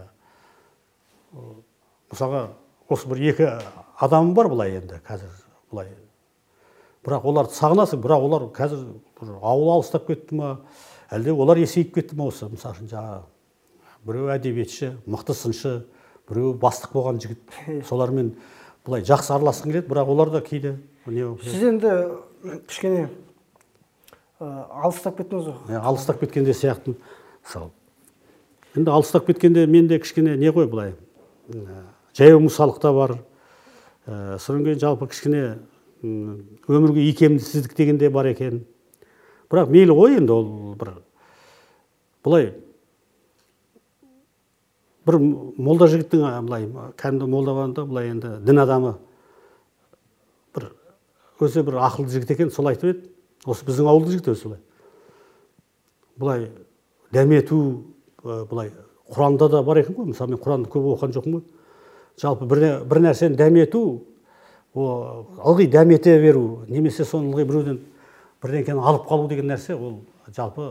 мысалға осы бір екі адамым бар былай енді қазір былай. Бірақ оларды сағынасың, бірақ олар қазір ауыл алыстап кетті ма, әлде олар есейіп кетті ма осы, мысалы үшін жаңағы біреу әдебиетші, мықты сыншы, біреу бастық болған жігіт. Солармен былай жақсы араласқың келеді, бірақ олар да кейде сіз енді кішкене алыстап кеттіңіз ғой. Алыстап кеткенде сияқты мысалы. Енді алыстап кеткенде менде кішкене не ғой былай, жаяу мысалық та бар. Содан кейін жалпы кішкене өмірге икемсіздік деген де бар екен. Бірақ мейлі ғой енді ол бір былай бір молда жігіттің былай кәдімгі молда болғанда былай енді дін адамы бір өзі бір ақылды жігіт екен, сол айтып еді. Осы біздің ауылды жігіт өзі былай. Былай дәмету былай Құранда да бар екен ғой. Мысалы мен Құранды көп оқыған жоқпын ғой. Жалпы бір нәрсені дәмету, ылғи дәмете беру, немесе соны ылғи біреуден бірдеңкені алып қалу деген нәрсе, ол жалпы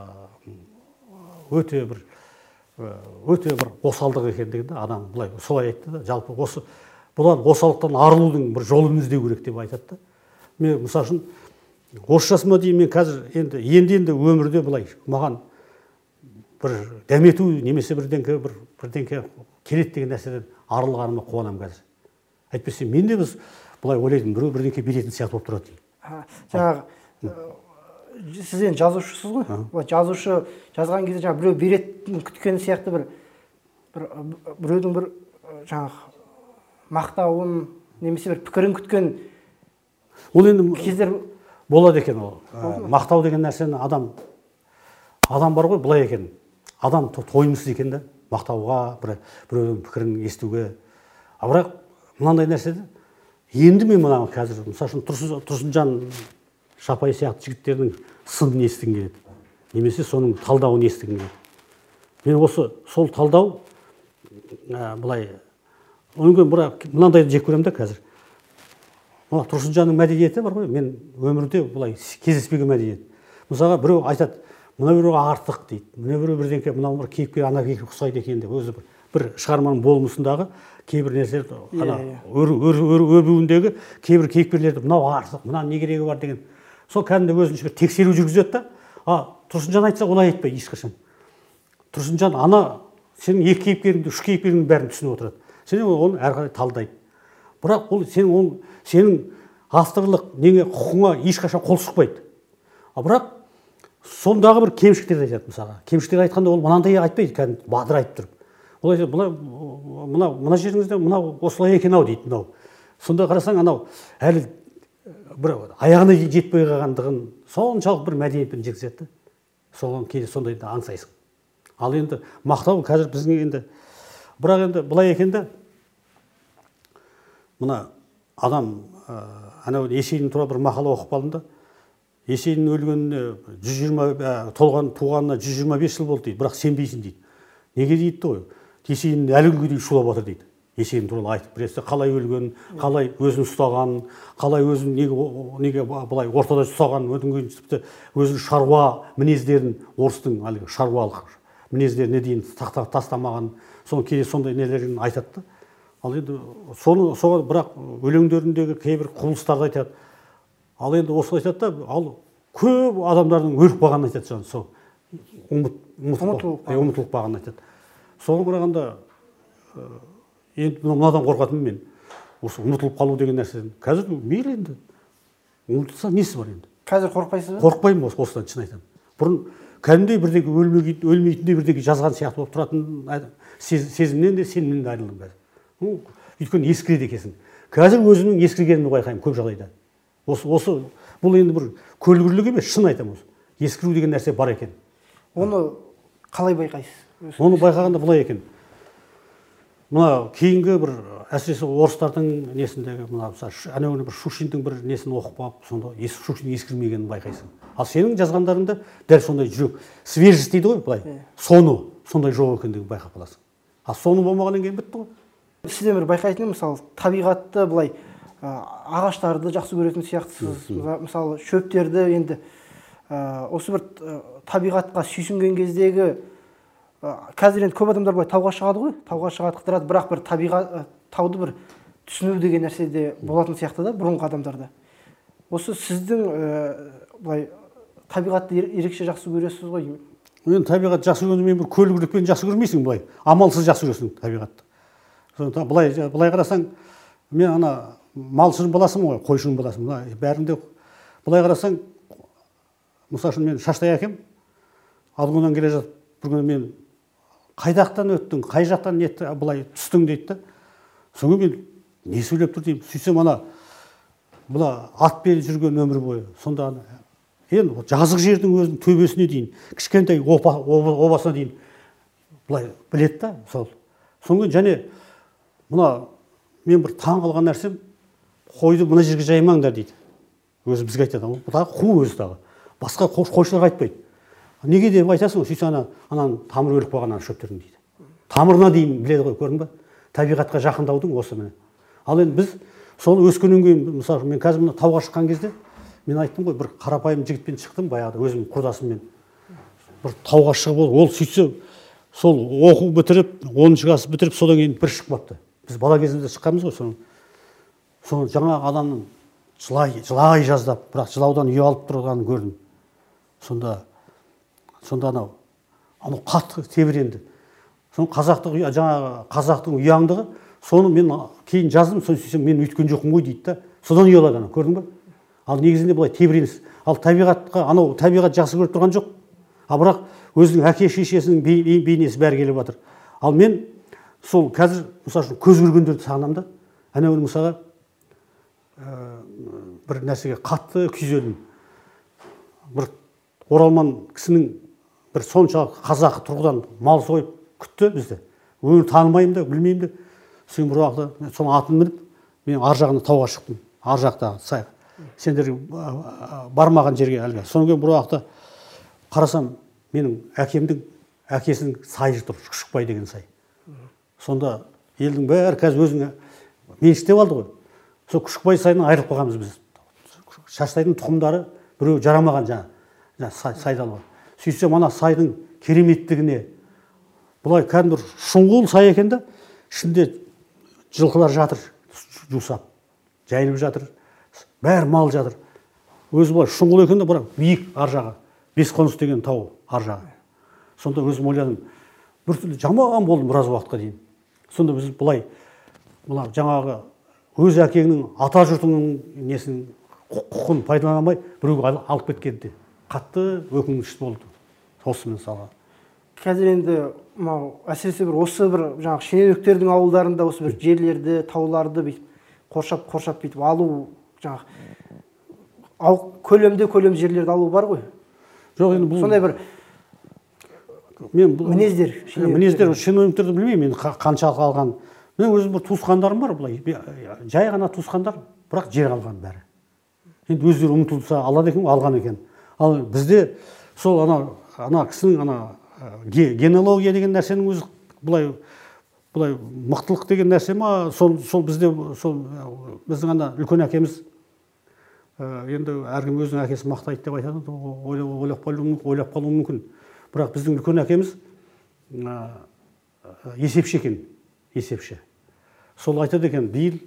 өте бір өте бір осалдық екендігін да адам былай солай айтты да. Жалпы осы бұдан осалдықтан арылудың бір жолын іздеу керек деп айтады да. Мен мысалы үшін осы жасыма дейін мен қазір енді енді енді өмірде былай маған бір дәмету немесе бірдеңке бір бірдеңке келеді деген нәрседен арылғаныма қуанамын қазір. Әйтпесе мен де біз былай ойлайтын біреу бірдеңке беретін сияқты болып тұрады. Жаңағы сіз енді жазушысыз ғой. Жазушы жазған кезде жаңағы біреу беретін күткен сияқты бір бір біреудің бір жаңағы мақтауын немесе бір пікірін күткен ол енді кездер болады екен. Ол мақтау деген нәрсені адам адам бар ғой былай екен. Адам тойымсыз екен да мақтауға, біреудің пікірін естуге. А бірақ мынандай нәрседе енді мен мына қазір мысалы үшін Тұрсынжан Шапай сияқты жігіттердің сынын естігім келеді. Немесе соның талдауын естігім келеді. Мен осы сол талдау былай онымен бірақ мынандайды жек көремін да қазір. Мына Тұрсынжанның мәдениеті бар ғой, мен өмірде былай кездеспеген мәдениет. Мысалға біреу айтады, мына біреу артық дейді, мына біреу бірдеңке, мынау бір кейіпкер ана кейіпкер ұқсайды екен деп, өзі бір бір шығарманың болмысындағы кейбір нәрселер ана өрбуіндегі кейбір кейіпкерлерді мынау артық, мына не керегі бар деген. Сол кәдімгі өзінше бір тексеру жүргізеді да. А Тұрсынжан айтса олай айтпайды ешқашан. Тұрсынжан ана сенің екі кейіпкеріңді, үш кейіпкеріңнің бәрін түсініп отырады. Сен оны әрі қарай талдайды. Бірақ ол сенің ол сенің авторлық неңе құқыңа ешқашан қол сұқпайды. А бірақ сондағы бір кемшіліктерді айтады мысалға. Кемшіліктер айтқанда ол мынандай айтпайды, кәдімгі бадырайтып тұрып. Ол айтады, мына мына мына жеріңізде мынау осылай екен ау дейді мынау. Сонда қарасаң анау әлі бір аяғына жетпей қалғандығын соншалық бір мәдениетпен жеткізеді. Соған кейде сондайды аңсайсың. Ал енді мақтау қазір біздің енді бірақ енді былай екен да мына адам анау Есейдің туралы бір мақала оқып қалдым да. Есенин өлгеніне жүз жиырма толған туғанына жүз жиырма бес жыл болды дейді, бірақ сенбейсің дейді. Неге дейді ғой? Есенин әлі күнге дейін шулап жатыр дейді. Есенин туралы айтып берсе, қалай өлгенін, қалай өзін ұстағанын, қалай өзін неге неге былай ортада ұстағанын, одан кейін тіпті өзінің шаруа мінездерін, орыстың әлгі шаруалық мінездеріне дейін тастамаған, соны кейде сондай нелерін айтады. Ал енді соны соған бірақ өлеңдеріндегі кейбір құбылыстарды айтады. Ал енді осы айтады да, ал көп адамдардың өліп қалғанын айтады, жаңағы сол ұмытылып қалғанын айтады. Соған қарағанда енді мынадан қорқатынмын мен, осы ұмытылып қалу деген нәрседен. Қазір мейлі енді, ұмытылса несі бар енді? Қазір қорықпайсыз ба? Қорықпаймын осыдан, шын айтамын. Бұрын кәдімгідей бірдеңе өлмейтіндей бірдеңе жазған сияқты болып тұратын сезімнен де сенімнен де айырылдым қазір. Өйткені ескіреді екенсің. Қазір өзімнің ескіргенімді байқаймын көп жағдайда. Осы осы бұл енді бір көлгірлік емес, шын айтамын осы. Ескіру деген нәрсе бар екен. Оны қалай байқайсыз? Оны байқағанда былай екен. Мына кейінгі бір әсіресе орыстардың несіндегі мына әнеугүні бір Шушиндің бір несін оқып алып, сонда Шушин ескірмегенін байқайсың. Ал сенің жазғандарында дәл сондай жүрек, свежесть дейді ғой былай. Соны сондай жоқ екендігін байқап қаласың. А соны болмағаннан кейін бітті ғой. Сізден бір байқайтыным, мысалы, табиғатты былай ағаштарды жақсы көретін сияқтысыз. Мысалы, шөптерді енді осы бір табиғатқа сүйсінген кездегі қазір енді көп адамдар былай тауға шығады ғой, тауға шығады қыдырады, бірақ бір табиғат тауды бір түсіну деген нәрсе де болатын сияқты да бұрынғы адамдарда. Осы сіздің былай табиғатты ерекше жақсы көресіз ғой? Мен табиғат жақсы көргенде мен бір көлгірлікпен жақсы көрмейсің былай, амалсыз жақсы көресің табиғатты. Былай былай қарасаң, мен ана малшының баласымын ғой, қойшының баласымын. Бәрінде былай қарасаң, мысалы үшін мен Шаштай әкем Алғаннан келе жатып, бір күні мен қайдақтан өттің, қай жақтан нетті, былай түстің дейді да. Соңғы мен не сөйлеп тұр деймін. Сөйтсем ана бұла атпен жүрген өмір бойы. Сонда енді жазық жердің өзінің төбесіне дейін, кішкентай обасына дейін былай біледі да сол. Соңғы және мына мен бір таң қалған нәрсем, қойды мына жерге жаймаңдар дейді. Өзі бізге айтады. Бұдағы қу өзі дағы. Басқа қойшыларға айтпайды. Неге деп айтасың, сөйтсе ана ананың тамыры өліп қалған шөптердің дейді. Тамырына дейін біледі ғой, көрдің бе? Табиғатқа жақындаудың осы міне. Ал енді біз сол өскеннен кейін, мысалы, мен қазір мына тауға шыққан кезде, мен айттым ғой, бір қарапайым жігітпен шықтым баяғыда, өзім құрдасыммен. Бір тауға шығып ол, ол сөйтсе, сол оқу бітіріп, оныншы класс бітіріп, содан кейін бір шығып апты. Біз бала кезімізде шыққанбыз ғой, соны. Соны жаңағы адамның жылай, жылай жаздап, бірақ жылаудан ұялып тұрғанын көрдім. Сонда сонда анау анау қатты тебіренді. Соны қазақтың жаңағы қазақтың ұяңдығы, соны мен кейін жаздым, соны сөйтсем мен өйткен жоқпын ғой дейді да. Содан ұялады ана, көрдің бе? Ал негізінде былай тебіреніс. Ал табиғатқа анау табиғат жақсы көріп тұрған жоқ. А бірақ өзінің әке шешесінің бейнесі бәрі келіп жатыр. Ал мен сол қазір мысалы үшін көз көргендерді сағынамын да. Әнеугүні мысалға бір нәрсеге қатты күйзелдім. Бір оралман кісінің бір соншалық қазақы тұрғыдан мал сойып күтті бізді. Өңір танымаймын да, білмеймін де. Сен бір уақытта соның атын мініп, мен ар жағына тауға шықтым. Ар жақта сай. Сендер бармаған жерге әлгі. Содан кейін бір уақытта қарасам, менің әкемдің әкесінің сайы тұр, Шықпай деген сай. Сонда елдің бәрі қазір өзіңе меншіктеп алды ғой. Сол Шықпай сайынан айырылып қалғанбыз біз. Шаштайдың тұқымдары біреу жарамаған жаңа сайдалға. Сөйтсем ана сайдың кереметтігіне, бұлай кәдімгі шұңғыл сай екен да, ішінде жылқылар жатыр, жусап, жайылып жатыр, бәрі мал жатыр. Өзі бұлай шұңғыл екен да, бірақ биік ар жағы, Бесқоныс деген тау ар жағы. Сонда өзім ойладым, біртүрлі жаман болдым біраз уақытқа дейін. Сонда біз бұлай, бұлай жаңағы өз әкеңнің, ата жұртыңның несін құқын пайдаланамай біреуге алып кеткенде қатты өкінішті болды. Осы мысалға. Қазір енді әсіресе бір осы бір жаңағы шенеуніктердің ауылдарында осы бір жерлерді, тауларды бүйтіп қоршап қоршап бүйтіп алу жаңағы көлемде көлем жерлерді алу бар ғой. Жоқ, енді бұл сондай бір мен мінездер, мінездер шенеуніктерді білмеймін, мен қаншалық алған. Мен өзім бір туысқандарым бар, былай жай ғана туысқандар, бірақ жер алған бәрі. енді өздері ұмтылса алады екен, алған екен. Ал бізде сол ана ана кісінің ана генеалогия деген нәрсенің өзі былай былай мықтылық деген нәрсе ма, сол сол бізде сол біздің ана үлкен әкеміз енді әркім өзінің әкесін мақтайды деп айтады, ойлап қалуы ойлап қалуы мүмкін. Бірақ біздің үлкен әкеміз есепші екен, есепші. Сол айтады екен, биыл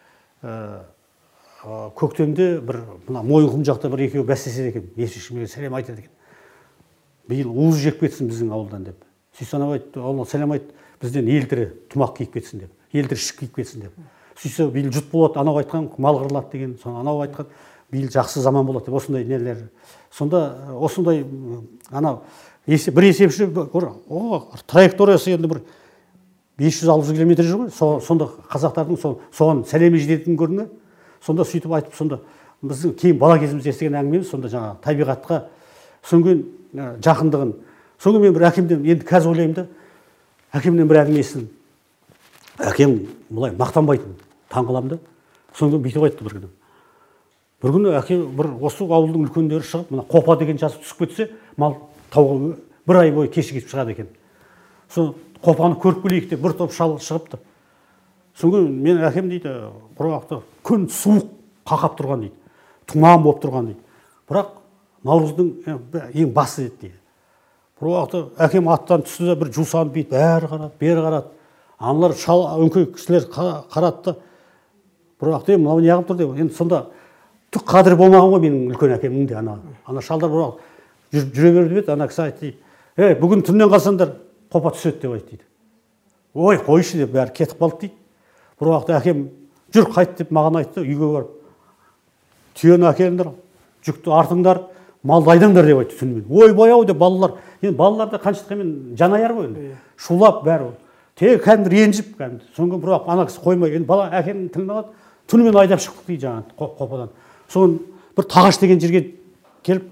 көктемде бір мына Мойынқұм жақта бір екеуі бәстеседі екен, есепшіге сәлем айтады екен. Биыл уыз жеп кетсін біздің ауылдан деп. Сөйтсе анау айтты, Алла сәлем айт, бізден елтірі тұмақ киіп кетсін деп, елтірі ішік киіп кетсін деп. Сөйтсе биыл жұт болады, анау айтқан мал қырылады деген, соны анау айтқан биыл жақсы заман болады деп, осындай нелер. Сонда осындай анау бір есепші о траекториясы енді бір бес жүз алты жүз километр жүр ғой. Сонда қазақтардың соған сәлемі жететін көрінді. Сонда сөйтіп айтып, сонда біздің кейін бала кезімізде естіген әңгімеміз, сонда жаңа табиғатқа сөнген жақындығын. Соңғы мен бір әкемден, енді қазір ойлаймын да, әкемнен бір әңгіме естідім. Әкем бұлай мақтанбайтын, таңғаламын да. Соңғы бүйтіп айтты бір күні. Бір күні әкем бір осы ауылдың үлкендері шығып, мына қопа деген жасы түсіп кетсе, мал тауға бір ай бойы кешігіп шығады екен. Сол қопаны көріп келейік деп бір топ шал шығыпты. Соңғы мен әкем дейді, құрғақты күн суық қақап тұрған дейді, тұман болып тұрған дейді. Бірақ Наурыздың ең басы еді дейді. Бір уақытта әкем аттан түсті де бір жусанып бүйтіп бәрі қарады, бері қарады. Аналар шал өңкей кісілер қарады да. Бір уақытта мынау неғып тұр деп. Енді сонда түк қадірі болмаған ғой менің үлкен әкемнің де. Ана ана шалдар бір уақыт жүре берді еді, ана кісі айтты дейді. Ей, бүгін түннен қалсаңдар қопа түседі деп айтты дейді. Ой, қойшы деп бәрі кетіп қалды дейді. Бір уақытта әкем жүр қайт деп маған айтты, үйге барып. Түйені әкеліңдер, жүкті артыңдар, малды айдаңдар деп айтты түнімен. Ой, баяу деп балалар, енді балаларда қаншыққамен жанайар ғой енді. Шулап бәрі. Тек кәдімгі ренжіп кәдімгі. Соңғы бір уақыт ана кісі қоймай, енді бала әкенің тілін алады, түнімен айдап шықтық дейді жаңағы қопадан. Соң бір Тағаш деген жерге келіп,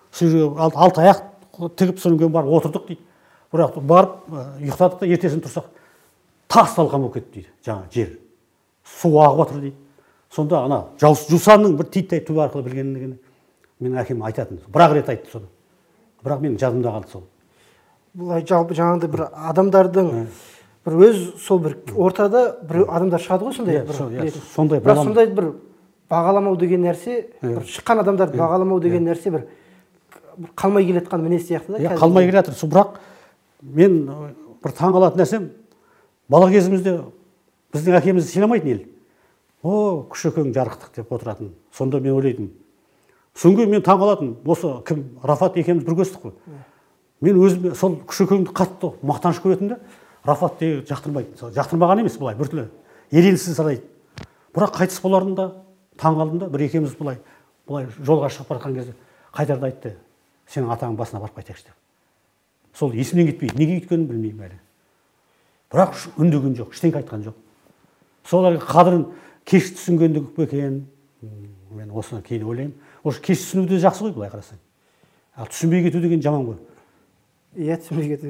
алты аяқ тігіп соңғы барып отырдық дейді. Бір уақыт барып ұйықтадық та ертесін тұрсақ, тас талқан болып кетті дейді, жаңа жер. Су ағып жатыр дейді. Сонда ана жусанның бір титтей түбі арқылы білгенін менің әкем айтатын. Бірақ рет айтты соны. Бірақ менің жадымда қалды сол. Бұлай жалпы жаңағыдай бір адамдардың бір өз сол бір ортада бір адамдар шығады ғой сондай бір. Сондай бірақ сондай бір бағаламау деген нәрсе, бір шыққан адамдарды бағаламау деген нәрсе бір қалмай келатқан мінез сияқты да. Қалмай келе жатыр. Бірақ мен бір таңғалатын нәрсем, бала кезімізде біздің әкемізді сыйламайтын ел. О, күшекең жарықтық деп отыратын. Сонда мен ойлайтын. Соңғы мен таңғалатын. Осы кім? Рафат екеуміз бір көстік қой. Мен өзім сол күшекеңді қатты мақтаныш көретін де, Рафат де жақтырмайтын. Жақтырмаған емес бұлай, біртүрлі еренсіз санайды. Бірақ қайтыс боларында таңғалдым да, бір екеуміз бұлай, бұлай жолға шығып барған кезде қайтарда айтты. Сенің атаңның басына барып қайтайықшы деп. Сол есімнен кетпейді. Неге өйткенін білмеймін әлі. Бірақ үндеген жоқ, ештеңе айтқан жоқ. Солардың қадірін кеш түсінгендік екен. Мен осыны кейін ойлаймын. Осы кеш түсіну де жақсы ғой былай қарасаң. Ал түсінбей кету деген жаман ғой. Иә, түсінбей кету.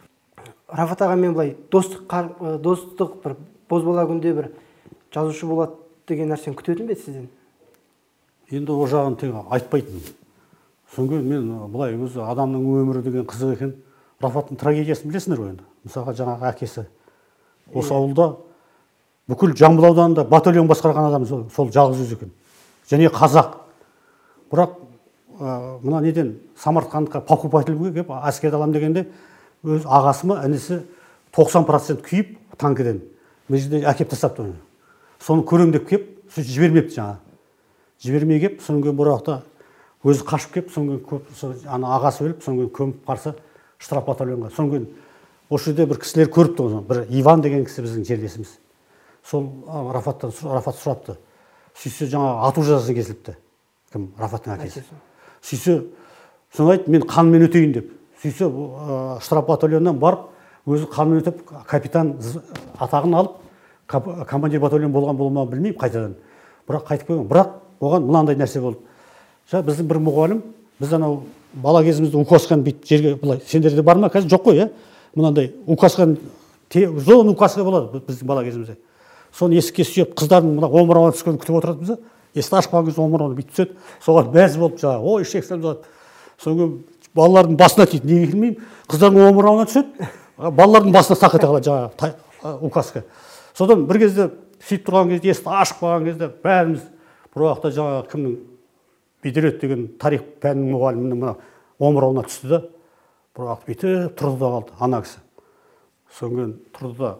Рафат ағамен былай достық достық бір бозбала күнде бір жазушы болады деген нәрсені күтетін бе сізден? Енді о жағын тек айтпайтын. Соңғы мен былай өзі адамның өмірі деген қызық екен. Рафаттың трагедиясын білесіңдер ғой енді. Мысалға жаңағы әкесі осы ауылда бүкіл Жамбыл ауданында батальон басқарған адам сол жалғыз өзі екен. Және қазақ. Бірақ мына неден Самарқандқа покупательге келіп әскерді аламын дегенде өз ағасы ма інісі тоқсан процент күйіп танкіден мына жерде әкеп тастапты оны. Соны көрем деп келіп, сөйтіп жібермепті жаңа. Жібермей келіп, соңғы бір уақытта өзі қашып келіп, соңғы ана ағасы өліп, соңғы көміп қарсы штраф батальонға. Соңғы осы жерде бір кісілер көріпті оны. Бір Иван деген кісі біздің жерлесіміз. Сол Рафаттан Рафат сұрапты. Сөйтсе жаңа ату жазасы кесіліпті. Кім? Рафаттың әкесі. Сөйтсе, соны айтты, мен қанмен өтейін деп. Сөйтсе штраф батальоннан барып, өзі қанмен өтіп, капитан атағын алып, командир батальон болған болмаған білмеймін қайтадан. Бірақ қайтып қойған. Бірақ оған мынандай нәрсе болды. Жаңа біздің бір мұғалім, біз анау бала кезімізде указканы бүйтіп жерге былай, сендерде бар ма? Қазір жоқ қой, иә? Мынандай указканы зон указка болады біздің бала кезімізде. Соны есікке сүйеп, қыздардың мына омырауына түскенін күтіп отыратынбыз. есікті ашып қалған кезде омырауына бүйтіп түседі, соған мәз болып жаңағы ой шексем болады. Содан балалардың басына тиді, неге келмеймін, қыздардың омырауына түседі, балалардың басына сақ ете қалады жаңағы указка. Содан бір кезде сөйтіп тұрған кезде, есікті ашып қалған кезде бәріміз бір уақытта жаңағы кімнің Бедерет деген тарих пәнінің мұғалімінің мына омырауына түсті да, бір уақыт бүйтіп тұрды да қалды ана кісі. Содан тұрды да,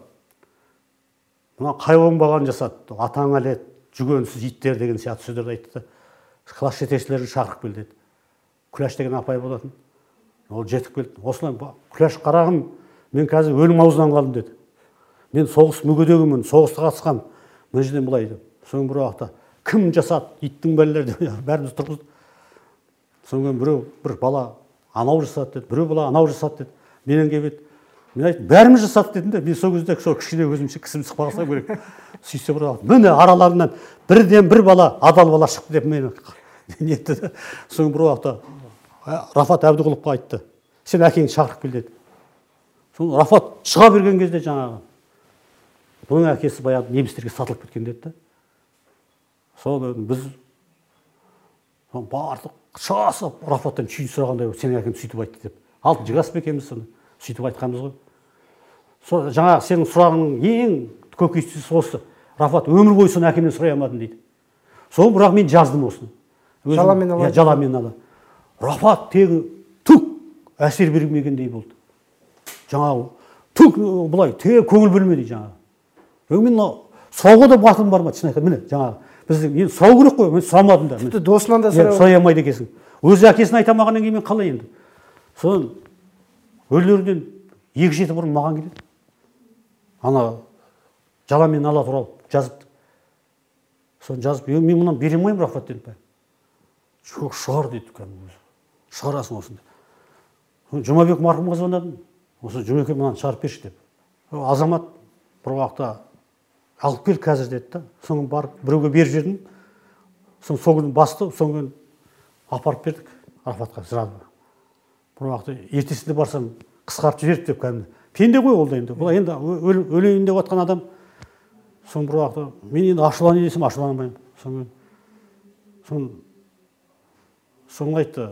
мына қай оңбаған жасады, атаң әлет, жүгенсіз иттер деген сияқты сөздерді айтты да, класс жетекшілерін шақырып кел деді. Күләш деген апай болатын. Ол жетіп келді. Осылай Күләш қарағым, мен қазір өлім аузынан қалдым деді. Мен соғыс мүгедегімін, соғысқа қатысқам. Мына жерден былай деді. Соң бір уақытта кім жасады? Иттің бәлелері деп бәріміз тұрғызды. Соң біреу бір бала анау жасады деді, біреу бала анау жасады деді. Менен келіп еді. Мен айттым, бәріміз жасады дедім де, мен сол кезде сол кішкене өзімше кісім сықпағаса керек. Сөйтсе бір уақыт, міне араларынан бірден бір бала, адал бала шықты деп мені нетті де. Соң бір уақытта Рафат Әбдіғұловқа айтты, сен әкеңді шақырып кел деді. Соң Рафат шыға берген кезде жаңағы, бұның әкесі баяғы немістерге сатылып кеткен деді. Сол біз бардық, шасып Рафаттан шүйін сұрағандай, сен әкем сөйтіп айтты деп. Алтыншы класс екенбіз соны, сөйтіп айтқанбыз ғой. Жаңағы сенің сұрағының ең көкейкестісі осы. Рафат өмір бойы соны әкемнен сұрай алмадым дейді. Сол бірақ мен жаздым осыны. Жаламен ала. Жаламен ала. Рафат тегі түк әсер бермегендей болды. Жаңағы түк бұлай тегі көңіл бөлмеді жаңағы. Мен сұрауға да батылым бармады, шын айтқанда. Міне жаңағы біздің енді сұрау керек қой, мен сұрамадым да. Тіпті досынан да сұрай алмайды екенсің. Өзі әкесін айта алмағаннан кейін мен қалай енді. Содан өлілерден екі жеті бұрын маған келеді. Ана жаламен ала туралы жазыпты. Соны жазып, мен мұнан бере алмаймын Рафат дедім. Жоқ, шығар деді кәдімгі. Шығарасың осында. Жұмабек марқұмға звондадым. Осы Жұмеке мынаны шығарып берші деп. Азамат бір уақытта алып кел қазір деді да. Соны барып біреуге беріп жібердім. Соны сол күні басты, сол күні апарып бердік Рафатқа жырады. Бір уақытта ертесінде барсам қысқартып жіберді деп кәдімгі. Пенде ғой ол да енді. Бұл енді өлейін деп отқан адам. Соны бір уақытта мен енді ашуланайын десем ашуланбаймын. Соны соны соны айтты.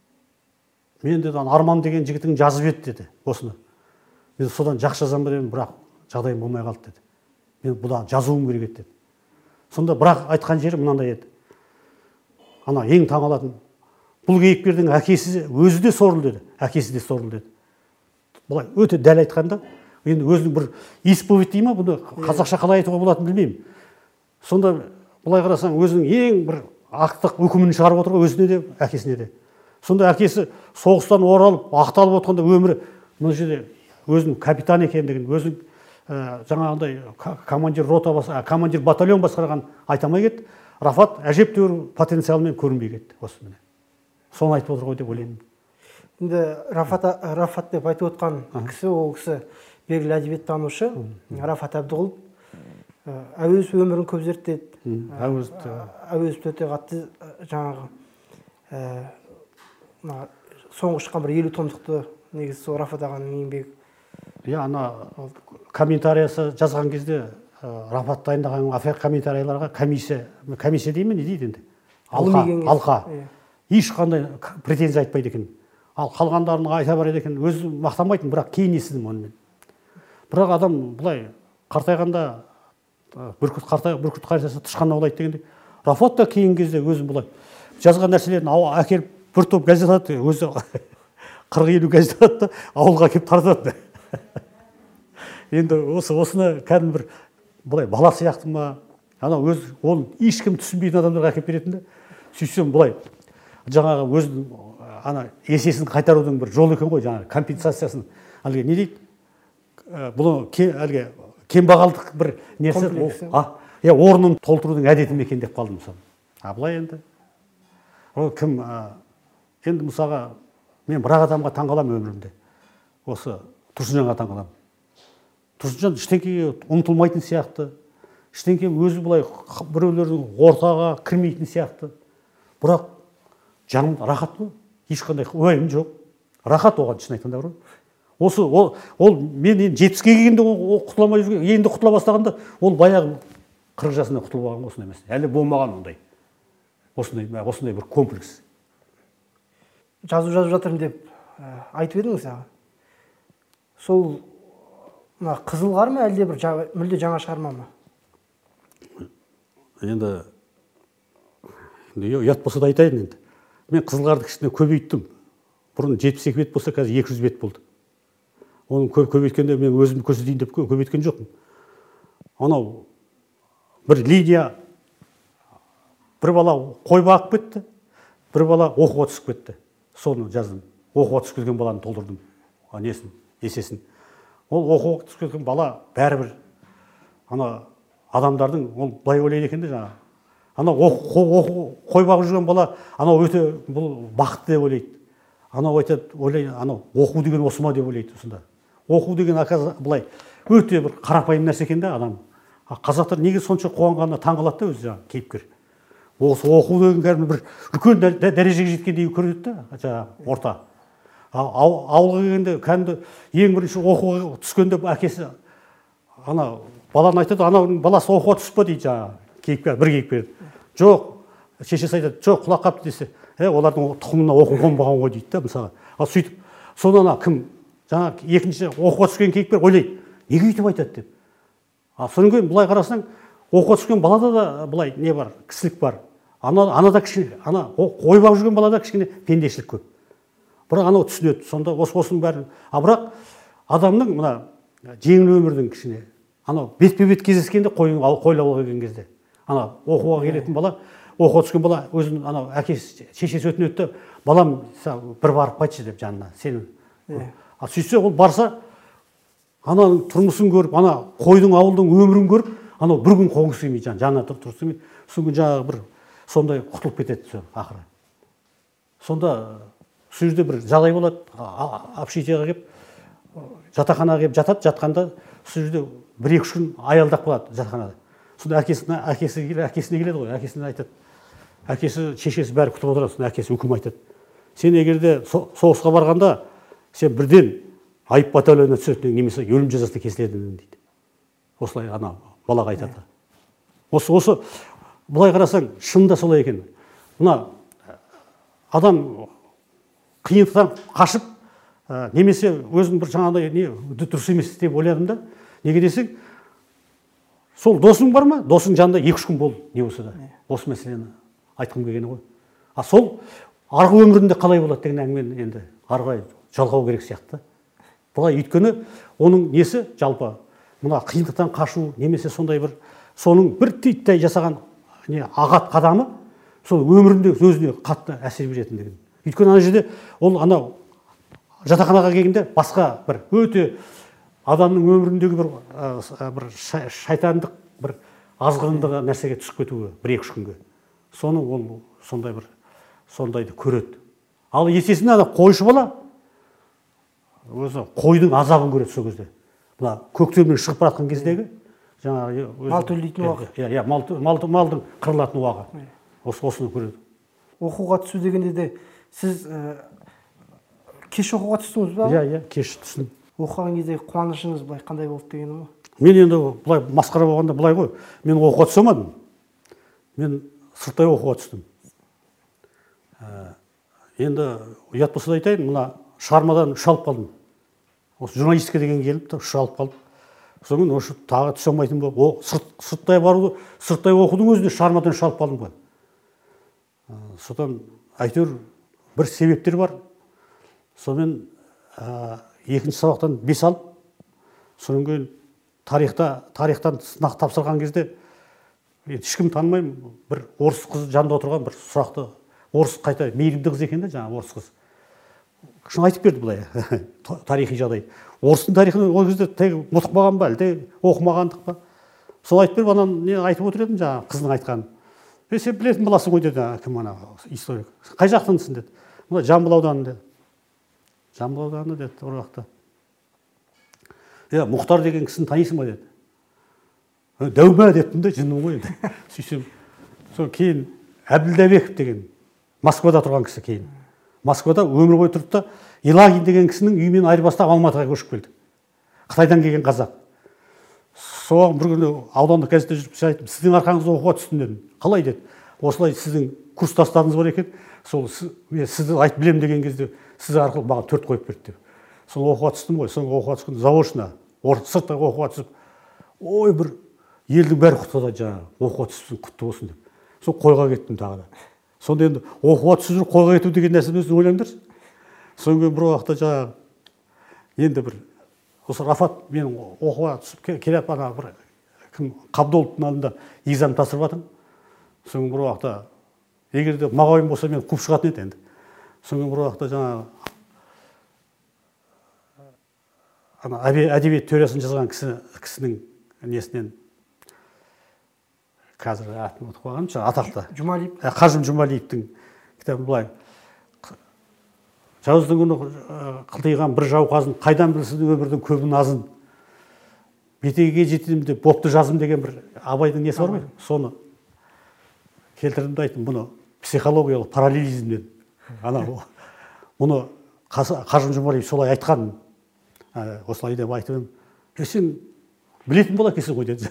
Мен деді Арман деген жігітің жазып еді деді осыны. Мен содан жақсы жазам ба дедім, бірақ жағдайым болмай қалды деді. Мен бұдан жазуым керек еді деді. Сонда бірақ айтқан жері мынандай еді. Ана ең таң алатын, бұл кейіпкердің әкесі өзі де сорлы деді, әкесі де сорлы деді. Бұлай өте дәл айтқанда, енді өзінің бір исповедь дей ма, бұны қазақша қалай айтуға болатынын білмеймін. Сонда бұлай қарасаң, өзінің ең бір ақтық үкімін шығарып отыр өзіне де, әкесіне де. Сонда әкесі соғыстан оралып, ақталып отқанда өмірі, мына жерде өзінің капитан екендігін, өзінің жаңағындай командир рота басқа, командир батальон басқарған айтамай кетті. Рафат әжептәуір потенциалмен көрінбей кетті осы міне. Соны айтып отыр ғой деп ойлаймын. Енді Рафат Рафат деп айтып отқан кісі, ол кісі белгілі әдебиеттанушы Рафат Әбдіғұлов. Әуезов өмірін көп зерттеді. Әуезов өте қатты жаңағы соңғы шыққан бір елу томдықты негізі сол Рафат ағаның еңбегі. Иә, ана комментариясы жазған кезде Рафат дайындаған комментарияларға комиссия, комиссия деймін, не дейді енді? Алқа, алқа. Ешқандай претензия айтпайды екен. Ал қалғандарын айта барады екен, өзі мақтанбайтын, бірақ кейін естідім онымен. Бірақ адам бұлай қартайғанда бүркіт қартай, бүркіт қартайса тышқан аулайды дегенде, Рафат та кейін кезде өзі бұлай жазған нәрселерін әкеліп бір топ газет алады, өзі қырық елу газет алады, ауылға келіп таратады. Енді осы осыны кәдімгі бір бұлай бала сияқты ма, ана өз ол ешкім түсінбейтін адамдарға әкеліп беретін де, сөйтсем бұлай жаңағы өзінің ана есесін қайтарудың бір жолы екен ғой, жаңағы компенсациясын әлгі не дейді, бұл әлгі кембағалдық бір нәрсе, я орнын толтырудың әдеті ме екен деп қалдым мысалы. А былай енді ол кім енді мысалға мен бір адамға таңғаламын өмірімде. Осы Тұрсынжанға таңғаламын. Тұрсынжан ештеңеге ұмтылмайтын сияқты, ештеңе өзі былай біреулердің ортаға кірмейтін сияқты. Бірақ жаным рахат қой, ешқандай уайым жоқ. Рахат оған шын айтқанда бар. Осы ол ол мен енді жетпіске келгенде ол құтыла алмай жүрген, енді құтыла бастағанда ол баяғы қырық жасында құтылып алған осындай емес. Әлі болмаған ондай. осындай осындай бір комплекс. Жазу жазып жатырмын деп айтып едіңіз аға. Сол мына қызыл қар ма әлде бір мүлде жаңа шығарма ма? Енді ұят болса да айтайын енді. Мен қызыл қарды кішкене көбейттім. Бұрын жетпіс екі бет болса, қазір екі жүз бет болды. Оны көбейткенде мен өзімді көрсетейін деп көбейткен жоқпын. Анау бір линия, бір бала қой бағып кетті, бір бала оқуға түсіп кетті. Соны жаздым. Оқуға түсіп кеткен баланы толтырдым. Несін, есесін. Ол оқуға түсіп кеткен бала бәрібір ана адамдардың ол былай ойлайды екен де жаңа. Ана қой бағып жүрген бала анау өте бұл бақытты деп ойлайды. Анау айтады, ойлайды, анау оқу деген осы ма деп ойлайды осында. Оқу деген былай өте бір қарапайым нәрсе екен де адам. Қазақтар неге сонша қуанғанына таңғалады да өзі жаңа кейіпкер. Осы оқу деген кәдімгі бір үлкен дәрежеге жеткендей көреді да жаңа орта. Ауылға келгенде кәдімгі ең бірінші оқуға түскенде әкесі ана баланы айтады, ананың баласы оқуға түсіп па дейді жаңа кейіпкер, бір кейіпкер. Жоқ, шешесі айтады, жоқ, құлақ қапты десе, е, олардың тұқымына оқу қонбаған ғой дейді да мысалы. Ал сөйтіп, содан кім жаңа екінші оқуға түскен кейіпкер ойлайды, неге өйтіп айтады деп. Ал содан кейін былай қарасаң, оқуға түскен балада да былай не бар, кісілік бар. Ана анада кішкене, ана қой бағып жүрген балада кішкене пендешілік көп. Бірақ анау түсінеді. Сонда осы осының бәрін. А бірақ адамның мына жеңіл өмірдің кішкене анау бетпе-бет кездескенде қойын қойлауға келген кезде. Ана оқуға келетін бала, оқуға түскен бала өзінің анау әкесі, шешесі өтінеді, балам бір барып қайтшы деп жанына, сенің. А сөйтсе ол барса, ананың тұрмысын көріп, ана қойдың ауылдың өмірін көріп, анау бір күн қоңсы келмейді, жанына тұрып келмейді. Сол күн жаңағы бір сондай құтылып кетеді сол ақыры. Сонда сол жерде бір жағдай болады, общежитиеге келіп, жатақханаға келіп жатады, жатқанда сол жерде бір-екі үш күн аялдап қалады жатақханада. Сонда әкесіне әкесіне әкесіне келеді ғой, әкесіне айтады. Әкесі, шешесі бәрі күтіп отырады, сонда әкесі үкім айтады. Сен егерде соғысқа барғанда, сен бірден айып батальонына түсетін немесе өлім жазасы кесіледі дейді. Осылай ана балаға айтады. Осы осы былай қарасаң, шынында солай екен. Мына адам қиындықтан қашып, немесе өзің бір жаңағыдай не дұрыс емес деп ойладым да. Неге десең, сол досың бар ма? Досың жанында екі-үш күн бол, не болса да. Осы мәселені айтқым келгені ғой. А сол арғы өмірінде қалай болады деген әңгімені енді арғы жалғау керек сияқты. Бұлай өйткені оның несі жалпы мына қиындықтан қашу немесе сондай бір соның бір титтей жасаған не ағат қадамы сол өмірінде өзіне қатты әсер беретіндігін. Өйткені ана жерде ол анау жатақханаға келгенде басқа бір өте адамның өміріндегі бір бір шайтандық бір азғырындығы нәрсеге түсіп кетуі бір-екі күнге. Соны ол сондай бір сондайды көреді. Ал есесіне ана қойшы бала өзі қойдың азабын көреді сол кезде. Мына көктемнен шығып бара жатқан кездегі жаңағы мал төлейтін уақыт. Иә, иә, мал малдың қырылатын уақыты. Осы осыны көреді. Оқуға түсу дегенде де сіз кеш оқуға түстіңіз ба? Иә, иә, кеш түстім. Оқыған кездегі қуанышыңыз былай қандай болды дегенім ғой? Мен енді былай масқара болғанда былай ғой. Мен оқуға түсе алмадым. Мен сырттай оқуға түстім. Енді ұят болса да айтайын, мына шығармадан үш алып қалдым. Осы журналистика деген келіп, үш алып қалдым. Содан осы тағы түсе алмайтын болып, сырттай баруды, сырттай оқудың өзінде шығармадан үш алып қалдым ғой. Содан әйтеуір бір себептер бар. Сонымен екінші сабақтан бес алып, содан кейін тарихта, тарихтан сынақ тапсырған кезде ешкім танымаймын, бір орыс қыз жанында отырған бір сұрақты, орыс қайта мейірімді қыз екен де жаңағы орыс қыз. Шын айтып берді былай, тарихи жағдай. Орыстың тарихын ол кезде тек ұмытпаған ба, әлде оқымағандық па? Сол айтып беріп, анан не айтып отыр едім жаңағы қыздың айтқанын. Е, сен білетін баласың ғой деді, кім ана историк. Қай жақтансың деді. Мына Жамбыл ауданы деді. Жамбыл ауданы деді, ол жақта. Е, Мұхтар деген кісіні танисың ба деді. Дәуме дедім де, жынным ғой енді. Сөйтсем, сол кейін Әбділдәбеков деген Москвада тұрған кісі кейін. Москвада өмір бойы тұрды да Илагин деген кісінің үйімен айырбастап Алматыға көшіп келді. Қытайдан келген қазақ. Соған бір күні аудандық газетте жүріп айтып, сіздің арқаңызда оқуға түстім дедім. Қалай деді? Осылай сіздің курстастарыңыз бар екен, сол мен сізді айтып білемін деген кезде сіз арқылы маған төрт қойып берді деп. Соны оқуға түстім ғой, соны оқуға түскен заочно, сыртта оқуға түсіп, ой, бір елдің бәрі құттықтады, жаңағы оқуға түсіпсің, құтты болсын деп. Сол қойға кеттім тағы да. Сонда енді оқуға түсіп жүріп қойға кету деген нәрсені өзін ойлаңдаршы. Содан кейін бір уақытта жаңағы енді бір осы Рафат менің оқуға түсіп келіп ана бір кім Қабдоловтың алдында экзамен тапсырып жатырмын. Содан бір уақытта егер де мағауин болса мен қуып шығатын еді енді. Содан бір уақытта жаңағы ана әдебиет теориясын жазған кісі кісінің несінен қазір атын ұмытып қалғаным, атақты Жұмалиев. Қажым Жұмалиевтің кітабы былай: жауыздың күні қылтиған бір жауқазын, қайдан білсін өмірдің көбін азын, бетеге жетем деп бопты жазым деген бір Абайдың несі бар ғой, соны келтірдім де айттым, бұны психологиялық параллелизмнен ана бұны Қажым Жұмалиев солай айтқан, осылай деп айтып едім. Сен білетін бола екенсің ғой деді.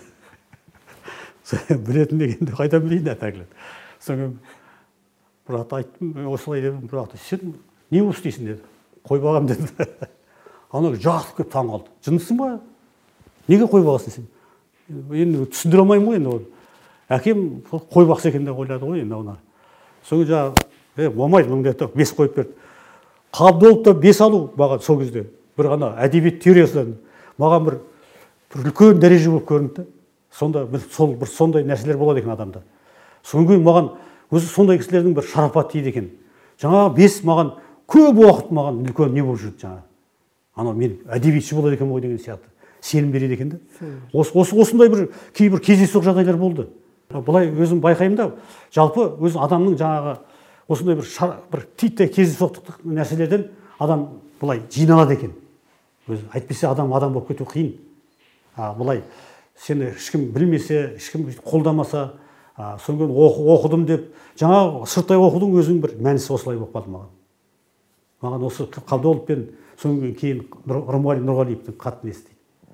Білетін дегенде қайдан білейін әтәгілі. Содан бір уақытта айттым, осылай дедім, бір уақытта сен не осы дейсің деді. Қой бағам деді. Ана жақсы көп таң қалды. Жындысың ба? Неге қой бағасың сен? Енді түсіндіре алмаймын ғой енді оны. Әкем қой бақсы екен деп ойлады ғой енді оны. Содан жаңағы болмайды мың деп бес қойып берді. Қабдоловта бес алу маған сол кезде бір ғана әдебиет теориясынан маған бір үлкен дәреже болып көрінді. Сонда бір сол бір сондай нәрселер болады екен адамда. Содан кейін маған өзі сондай кісілердің бір шарапаты тиді екен. Жаңағы бес маған көп уақыт маған үлкен не болып жүрді жаңағы. Анау мен әдебиетші болады екен ғой деген сияқты сенім береді екен де. Осы осындай бір кейбір кездейсоқ жағдайлар болды. Былай өзім байқаймын да, жалпы өз адамның жаңағы осындай бір бір титтей кездейсоқтық нәрселерден адам былай жиналады екен. Өзі айтпаса адам адам болып кету қиын. А былай сені ешкім білмесе, ешкім қолдамаса, содан кейін оқыдым деп, жаңа сырттай оқудың өзінің бір мәнісі осылай болып қалды маған. Маған осы Қабдолов пен содан кейін Рымғали Нұрғалиевтің қатты естиді.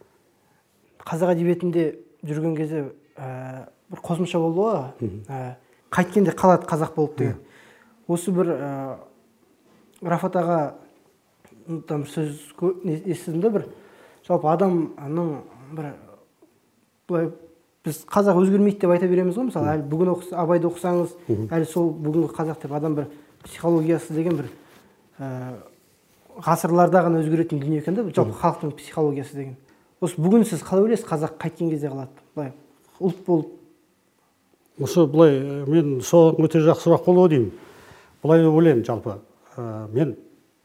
Қазақ әдебиетінде жүрген кезде бір қосымша болды ғой, қайткенде қалады қазақ болып деген. Осы бір Рафат аға сөз естідім де, бір жалпы адамның бір былай біз қазақ өзгермейді деп айта береміз ғой, мысалы әлі бүгін Абайды оқысаңыз, әлі сол бүгінгі қазақ деп адам бір психологиясы деген бір ғасырларда ғана өзгеретін дүние екен де, жалпы халықтың психологиясы деген. Осы бүгін сіз қалай ойлайсыз, қазақ қайткен кезде қалады, былай ұлт болып? Осы былай мен соған өте жақсы сұрақ болды деймін. Былай ойлаймын жалпы, мен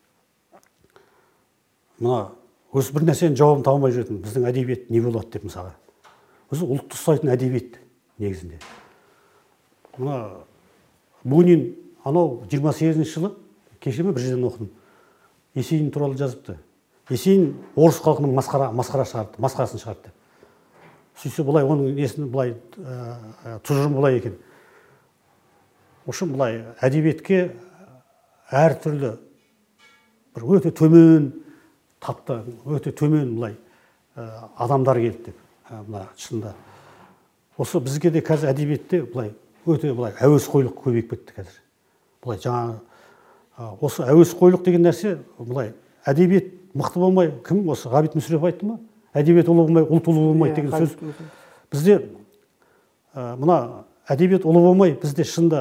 мына осы бір нәрсенің жауабын таба алмай жүретін, біздің әдебиет не болады деп мысалға. Өзі ұлтты ұстайтын әдебиет негізінде. Мына Бунин анау жиырма сегізінші жылы кеше ме бір жерден оқыдым. Есейін туралы жазыпты. Есейін орыс халқының масқара масқара шығарды, масқарасын шығарды. Сөйтсе былай оның несін былай тұжырым былай екен. Осы былай әдебиетке әртүрлі бір өте төмен тапты, өте төмен былай адамдар келді деп. Мына шынында осы бізге де қазір әдебиетте былай өте былай әуесқойлық көбейіп кетті қазір. Былай жаңа осы әуесқойлық деген нәрсе былай әдебиет мықты болмай, кім осы Ғабит Мүсірепов айтты ма? Әдебиет ұлы болмай, ұлт ұлы болмайды деген сөз. Бізде мына әдебиет ұлы болмай, бізде шынында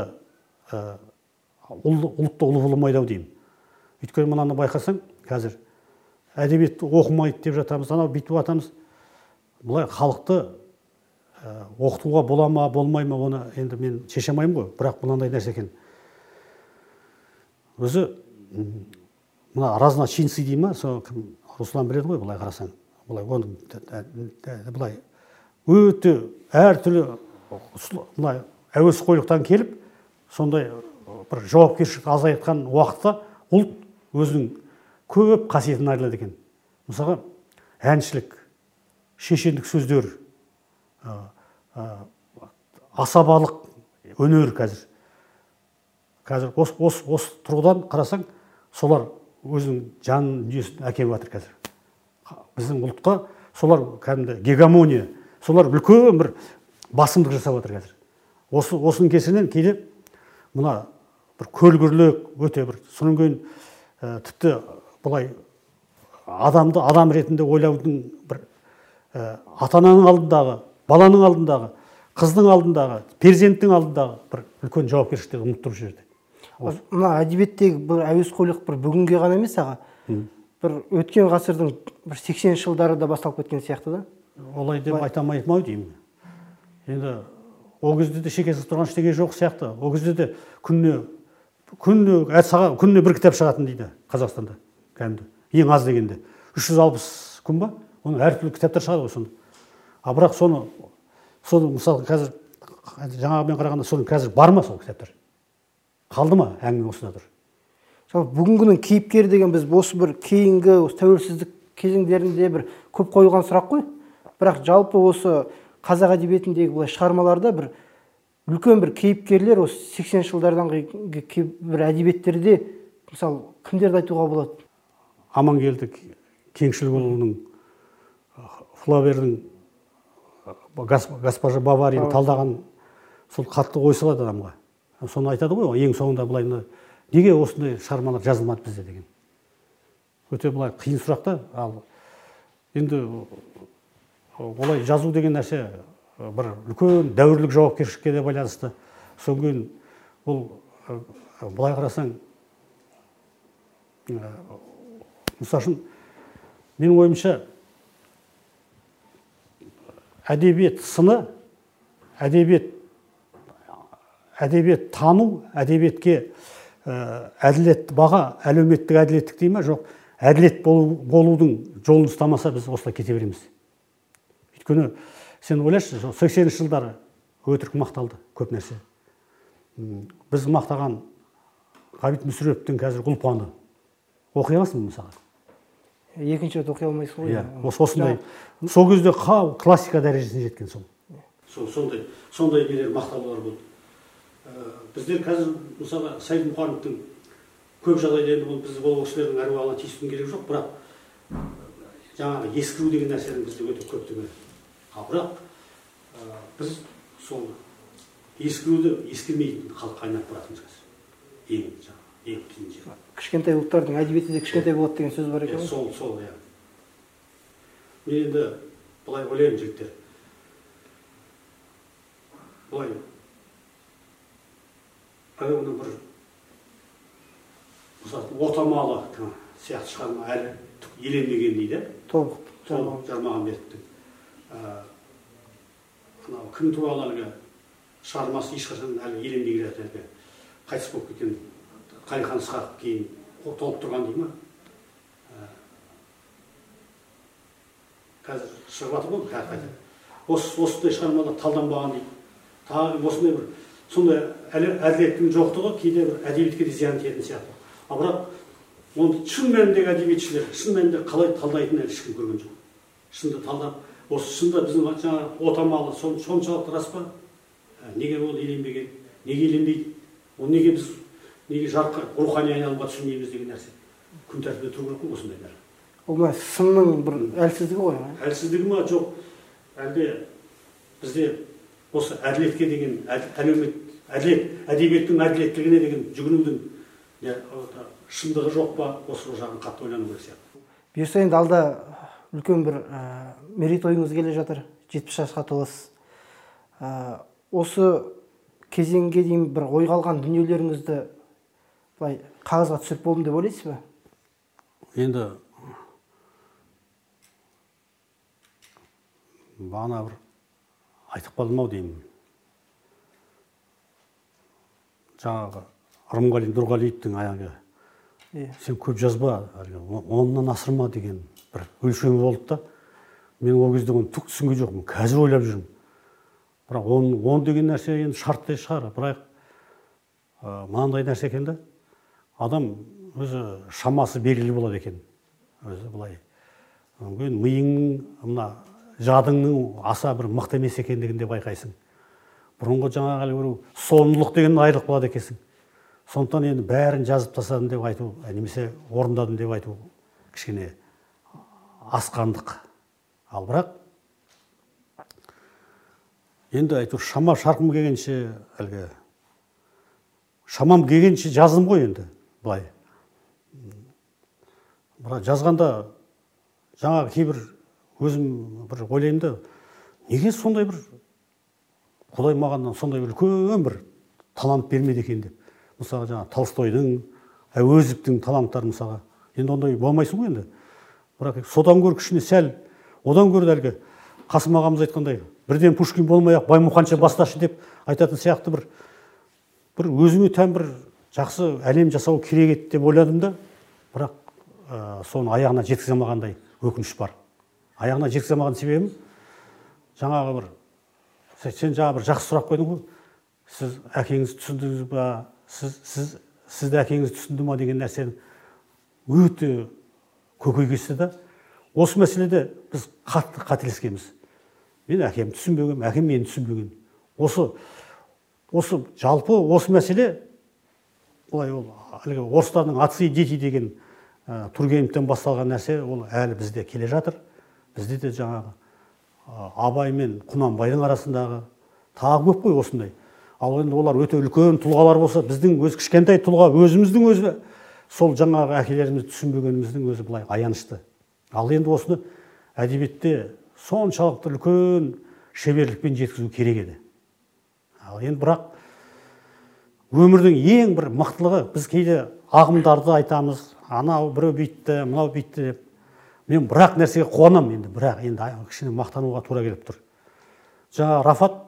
ұлтта ұлы болмайды ау деймін. Өйткені мынаны байқасаң, қазір әдебиетті оқымайды деп жатамыз, анау бүйтіп жатамыз. Бұлай халықты оқытуға бола ма, болмай ма, оны енді мен шеше алмаймын ғой, бірақ мынандай нәрсе екен. Өзі мына разночинцы дей ма, сол кім Руслан біледі ғой, былай қарасаң. Былай оның былай өте әртүрлі былай әуесқойлықтан келіп, сондай бір жауапкершілікті азайтқан уақытта ұлт өзінің көп қасиетін айырылады екен. Мысалға, әншілік, шешендік сөздер, асабалық өнер қазір. Қазір осы тұрғыдан қарасаң, солар өзінің жанын дүниесін әкеліп жатыр қазір. Біздің ұлтқа солар кәдімгі гегемония, солар үлкен бір басымдық жасап жатыр қазір. Осының кесірінен кейде мына бір көлгірлік өте бір содан кейін тіпті былай адамды адам ретінде ойлаудың бір ата ананың алдындағы, баланың алдындағы, қыздың алдындағы, перзенттің алдындағы бір үлкен жауапкершілікті ұмытып тұр жерде. Мына әдебиеттегі бір әуесқойлық бір бүгінге ғана емес аға, бір өткен ғасырдың бір сексенінші жылдары да басталып кеткен сияқты да. Олай деп айта алмаймын ау деймін. Енді ол кезде де шекесі тұрған ештеңе жоқ сияқты. Ол кезде де күніне күніне әр сағат күніне бір кітап шығатын дейді Қазақстанда. Кәдімгі ең аз дегенде үш жүз алпыс күн ба? Оның әртүрлі кітаптар шығады ғой сонда. А бірақ соны соны мысалы қазір жаңағымен қарағанда соның қазір бар ма сол кітаптар? Қалды ма әңгіме осында тұр? Мысалы бүгінгінің кейіпкері деген біз осы бір кейінгі осы тәуелсіздік кезеңдерінде бір көп қойылған сұрақ қой. Бірақ жалпы осы қазақ әдебиетіндегі былай шығармаларда бір үлкен бір кейіпкерлер осы сексенінші жылдардан бір әдебиеттерде мысалы кімдерді айтуға болады? Амангелді Кеңшілікұлының, Флабердің госпожа Баварияны талдаған сол қатты ой салады адамға. Соны айтады ғой, ең соңында былай неге осындай шығармалар жазылмады бізде деген. Өте былай қиын сұрақта. Ал енді олай жазу деген нәрсе бір үлкен дәуірлік жауапкершілікке де байланысты. Содан кейін бұл былай қарасаң, мысалы үшін менің ойымша әдебиет сыны, әдебиет әдебиет тану, әдебиетке әділет баға, әлеуметтік әділеттік дей ма, жоқ, әділет болудың жолын ұстамаса біз осылай кете береміз. Өйткені сен ойлашы, сексенінші жылдары өтірік мақталды көп нәрсе. Біз мақтаған Ғабит Мүсіреповтің қазір Ұлпаны оқи аласың мысалы? Екінші рет оқи алмайсың ғой. Осындай. Сол кезде классика дәрежесіне жеткен сол. Сондай, сондай нелер мақтаулар болды. Біздер қазір мысалы Сайд Мұқановтың көп жағдайда енді біз ол кісілердің әруағына тиісудің керегі жоқ, бірақ жаңағы ескіру деген нәрсенің бізде өте көп түгел. Ал бірақ біз сол ескіруді ескірмейтін халыққа айналып баратырмыз қазір. Ең жаңағы ең қиын жер. Кішкентай ұлттардың әдебиеті де кішкентай болады деген сөз бар екен. Сол, сол, иә. Мен енді былай ойлаймын жігіттер. Былай оны бір мысалы отамалы сияқты шығарма әлі еленбеген дейді. Тобық Жармағанбетовтың анау кім туралы әлгі шығармасы ешқашан әлі еленбеген әлгі қайтыс болып кеткен Қалихан Ысқақов кейін толып тұрған дейді ма? Қазір шығып жатыр ғой қайта. Осындай шығармалар талданбаған дейді. Тағы осындай бір сондай әділеттің жоқтығы кейде бір әдебиетке де зиян тиетін сияқты. А бірақ оны шын мәніндегі әдебиетшілер, шын мәнінде қалай талдайтынын әлі ешкім көрген жоқ. Шынды талдап, осы шында біздің жаңағы отамалы соншалықты рас па? Неге ол еленбеген? Неге еленбейді? Ол неге біз неге жарыққа рухани айналымға түсірмейміз деген нәрсе күн тәртібінде тұру керек қой осындай нәрсе. Ол мына сынның бір әлсіздігі ғой. Әлсіздігі ма жоқ, әлде бізде осы әділетке деген әлеумет әділет әдебиеттің әділеттілігіне деген жүгінудің шындығы жоқ па, осы жағын қатты ойлану керек сияқты. Бұйырса енді алда үлкен бір мерейтойыңыз келе жатыр, жетпіс жасқа толасыз. Осы кезеңге дейін бір ойға алған дүниелеріңізді былай қағазға түсіріп болдым деп ойлайсыз ба? Енді бағана бір айтып қалдым ау деймін. Жаңағы Рымғали Нұрғалиевтің аяғы сен көп жазба, оннан асырма деген бір өлшемі болды да. Мен ол кезде оны түк түсінген жоқпын, қазір ойлап жүрмін. Бірақ он деген нәрсе енді шарттай шығар, бірақ мынандай нәрсе екен да. Адам өзі шамасы белгілі болады екен. Өзі былай. Миыңның, мына жадыңның аса бір мықты емес екендігін де байқайсың. Бұрынғы жаңағы бір соңдылық деген айырылып қалады екенсің. Сондықтан енді бәрін жазып тастадым деп айту, немесе орындадым деп айту кішкене асқандық. Ал бірақ енді айту шама шарқым келгенше әлгі шамам келгенше жаздым ғой енді былай. Бірақ жазғанда жаңағы кейбір өзім бір ойлаймын да, неге сондай бір Құдай маған сондай үлкен бір талант бермеді екен деп. Мысалы жаңа Толстойдың, Әуезовтің таланттары мысалға. Енді ондай болмайсың ғой енді. Бірақ содан гөрі кішкене сәл, одан гөрі әлгі Қасым ағамыз айтқандай, бірден Пушкин болмай-ақ Баймұханша басташы деп айтатын сияқты бір бір өзіме тән бір жақсы әлем жасау керек еді деп ойладым да, бірақ ә, соны аяғына жеткізе алмағандай өкініш бар. Аяғына жеткізе алмаған себебім жаңағы бір сен жаңа бір жақсы сұрақ қойдың ғой. Сіз әкеңізді түсіндіңіз ба? Сіз сіз сізді әкеңіз түсінді ма деген нәрсені өте көкейкесті да. Осы мәселеде біз қатты қателескенбіз. Мен әкем түсінбеген, әкем мені түсінбеген. Осы осы жалпы осы мәселе былай ол әлгі орыстардың отцы и дети деген ә, Тургеневтен басталған нәрсе, ол әлі бізде келе жатыр. Бізде де жаңағы ә, Абай мен Құнанбайдың арасындағы тағы көп қой осындай. Ал енді олар өте үлкен тұлғалар болса, біздің өз кішкентай тұлға өзіміздің өзі сол жаңағы әкелерімізді түсінбегеніміздің өзі былай аянышты. Ал енді осыны әдебиетте соншалықты үлкен шеберлікпен жеткізу керек еді. Ал енді бірақ өмірдің ең бір мықтылығы, біз кейде ағымдарды айтамыз, анау біреу бүйтті, мынау бүйтті деп. Мен бірақ нәрсеге қуанам енді, бірақ енді кішкене мақтануға тура келіп тұр. Жаңа Рафат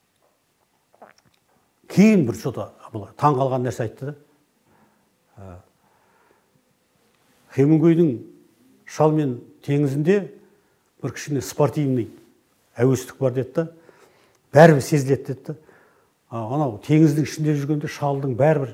кейін бір что-то таң қалған нәрсе айтты да. Хемингуейдің «Шал мен теңізінде» бір кішкене спортивный әуестік бар деді да, бәрібір сезіледі деді да. Анау теңіздің ішінде жүргенде шалдың бәрібір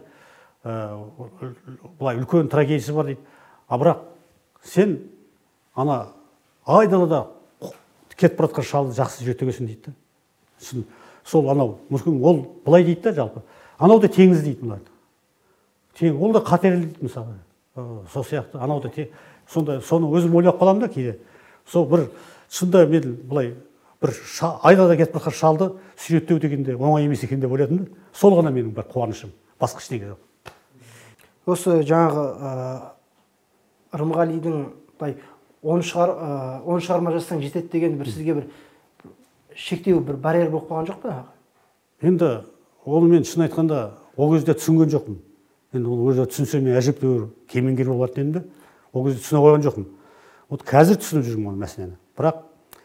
былай үлкен трагедиясы бар дейді. А бірақ сен ана айдалада кетіп бара жатқан шалды жақсы жетегесің дейді да. Сол анау, мүмкін ол былай дейді да жалпы. Анау да теңіз дейді бұларды. Тең, ол да қатерлі дейді мысалы. Сол сияқты, анау да тең. Сонда соны өзім ойлап қаламын да кейде. Сол бір шында мен былай бір айдалада кетіп бара жатқан шалды сүйреттеу дегенде оңай емес екен деп ойладым да. Сол ғана менің бір қуанышым. Басқа ештеңе жоқ. Осы жаңағы Рымғалидың былай он шығарма жазсаң жетеді деген бір сізге бір шектеу, бір барьер болып қалған жоқ па? Енді оны мен шын айтқанда ол кезде түсінген жоқпын. Енді ол өзі түсінсе мен әжептәуір кемеңгер болатын едім де, ол кезде түсіне қойған жоқпын. Вот қазір түсініп жүрмін оны мәселені. Бірақ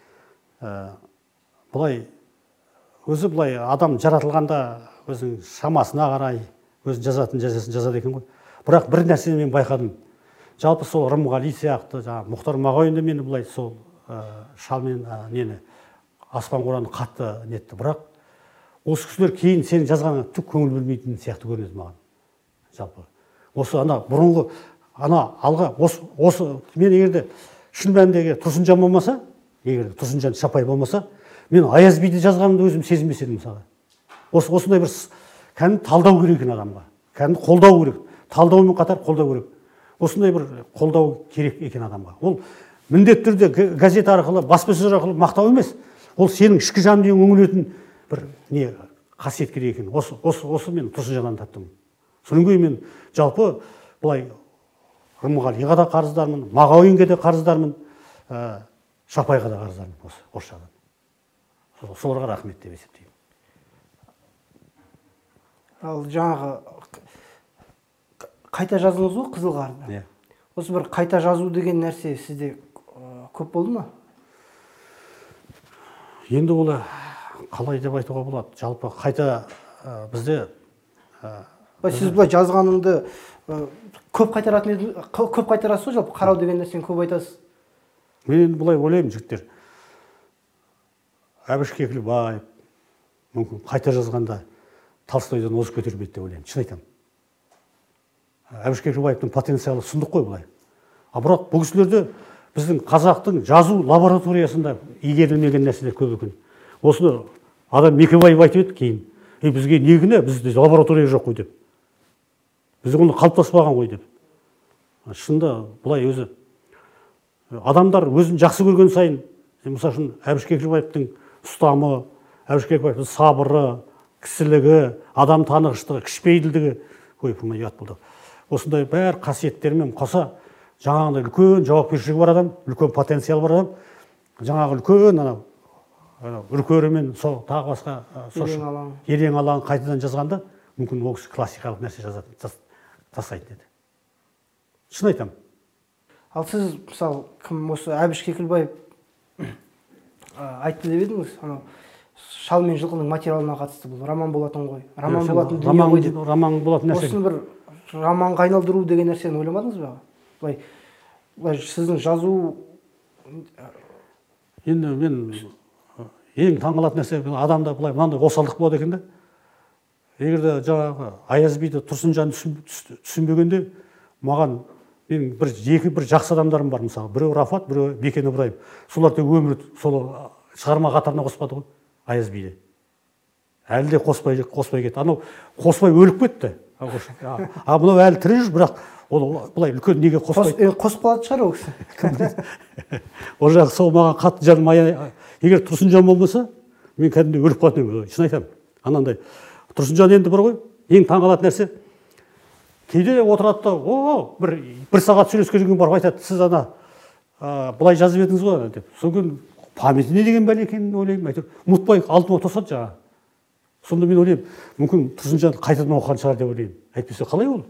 былай өзі былай адам жаратылғанда өзінің шамасына қарай өзі жазатын жазасын жазады екен ғой. Бірақ бір нәрсені мен байқадым. Жалпы сол Рымғали сияқты, жаңағы Мұхтар Мағауинді мені былай сол шал мен нені Аспан Қораны қатты нетті. Бірақ осы кісілер кейін сен жазғанға түк көңіл бөлмейтін сияқты көрінеді маған. Жалпы осы ана бұрынғы ана алға осы осы мен егерде шын мәніндегі Тұрсынжан болмаса, егер Тұрсынжан Шапай болмаса, мен Аяз биді жазғанымды өзім сезінбес едім мысалы. Осы осындай бір кәдімгі талдау керек екен адамға. Кәдімгі қолдау керек. Талдаумен қатар қолдау керек. Осындай бір қолдау керек екен адамға. Ол міндетті түрде газет арқылы, баспасөз арқылы мақтау емес. Ол сенің ішкі жаныңнан үңілетін бір не қасиет керек екен. Осы осы осы мен Тұрсынжаннан таптым. Содан кейін мен жалпы былай Рымғалиға да қарыздармын, Мағауинге де қарыздармын, Шапайға да қарыздармын осы орысшадан. Соларға рахмет деп есептеймін. Ал жаңағы қайта жаздыңыз ғой Қызыл Қарды. Осы бір қайта жазу деген нәрсе сізде көп болды ма? Енді ол қалай деп айтуға болады. Жалпы қайта бізде сіз былай жазғаныңды көп қайтаратын едіңіз, көп қайтарасыз ғой жалпы, қарау деген нәрсені көп айтасыз. Мен енді былай ойлаймын жігіттер. Әбіш Кекілбаев мүмкін қайта жазғанда Толстойдан озып көтермейді деп ойлаймын. Шын айтамын. Әбіш Кекілбаевтың потенциалы сұмдық қой былай. А бірақ бұл кісілерде біздің қазақтың жазу лабораториясында игерілмеген нәрселер көп екен. Осыны адам Мекебаев айтып еді кейін. Е, бізге негіне бізде лаборатория жоқ қой деп. Бізде оны қалыптаспаған ғой деп. Шында бұлай өзі адамдар өзін жақсы көрген сайын, мысалы үшін Әбіш Кекілбаевтың ұстамы, Әбіш Кекілбаевтың сабыры, кісілігі, адам танығыштығы, кішіпейілдігі, ой, бұл ұят болды. Осындай бәр қасиеттерімен қоса жаңағындай үлкен жауапкершілігі бар адам, үлкен потенциал бар адам, жаңағы үлкен анау үркерімен сол тағы басқа ерең алаңын қайтадан жазғанда мүмкін ол кісі классикалық нәрсе жазатын тастайтын еді. Шын айтамын. Ал сіз мысалы кім осы Әбіш Кекілбаев айтты деп едіңіз, анау шал мен жылқының материалына қатысты бұл роман болатын ғой. Роман болатын дүние ғой деп. Роман болатын нәрсе. Осыны бір романға айналдыру деген нәрсені ойламадыңыз ба? Былай, былай сіздің жазу енді мен ең таңғалатын нәрсе адамда былай мынандай осалдық болады екен да. Егер де жаңағы Аяз биді Тұрсынжан түсінбегенде маған мен бір екі бір жақсы адамдарым бар мысалы. Біреу Рафат, біреу Бекен Ыбырайым. Солар тек өмір сол шығарма қатарына қоспады ғой Аяз биді. Әлі де қоспай қоспай кетті. Анау қоспай өліп кетті. А мынау әлі тірі жүр, бірақ ол былай үлкен неге қоспай қосып қалатын шығар ол кісі. Ол жағы сол маған қатты жаным егер Тұрсынжан болмаса, мен кәдімгідей өліп қалатын едім. Шын айтамын. Анандай Тұрсынжан енді бар ғой, ең таңғалатын нәрсе. Кейде отырады да, о, бір бір сағат сөйлескен кейін барып айтады, сіз ана былай жазып едіңіз ғой деп. Содан памяті не деген бәле екенін ойлаймын. Әйтеуір ұмытпай алдыма тосады жаңа. Сонда мен ойлаймын, мүмкін Тұрсынжан қайтадан оқыған шығар деп ойлаймын. Әйтпесе қалай ол?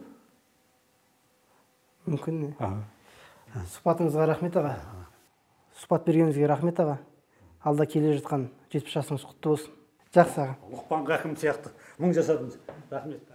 Мүмкін не? Сұхбатыңызға рахмет аға. Сұхбат бергеніңізге рахмет аға. Алда келе жатқан жетпіс жасыңыз құтты болсын. Жақсы аға. Лұқпан Хакім сияқты мың жасадыңыз. Рахмет.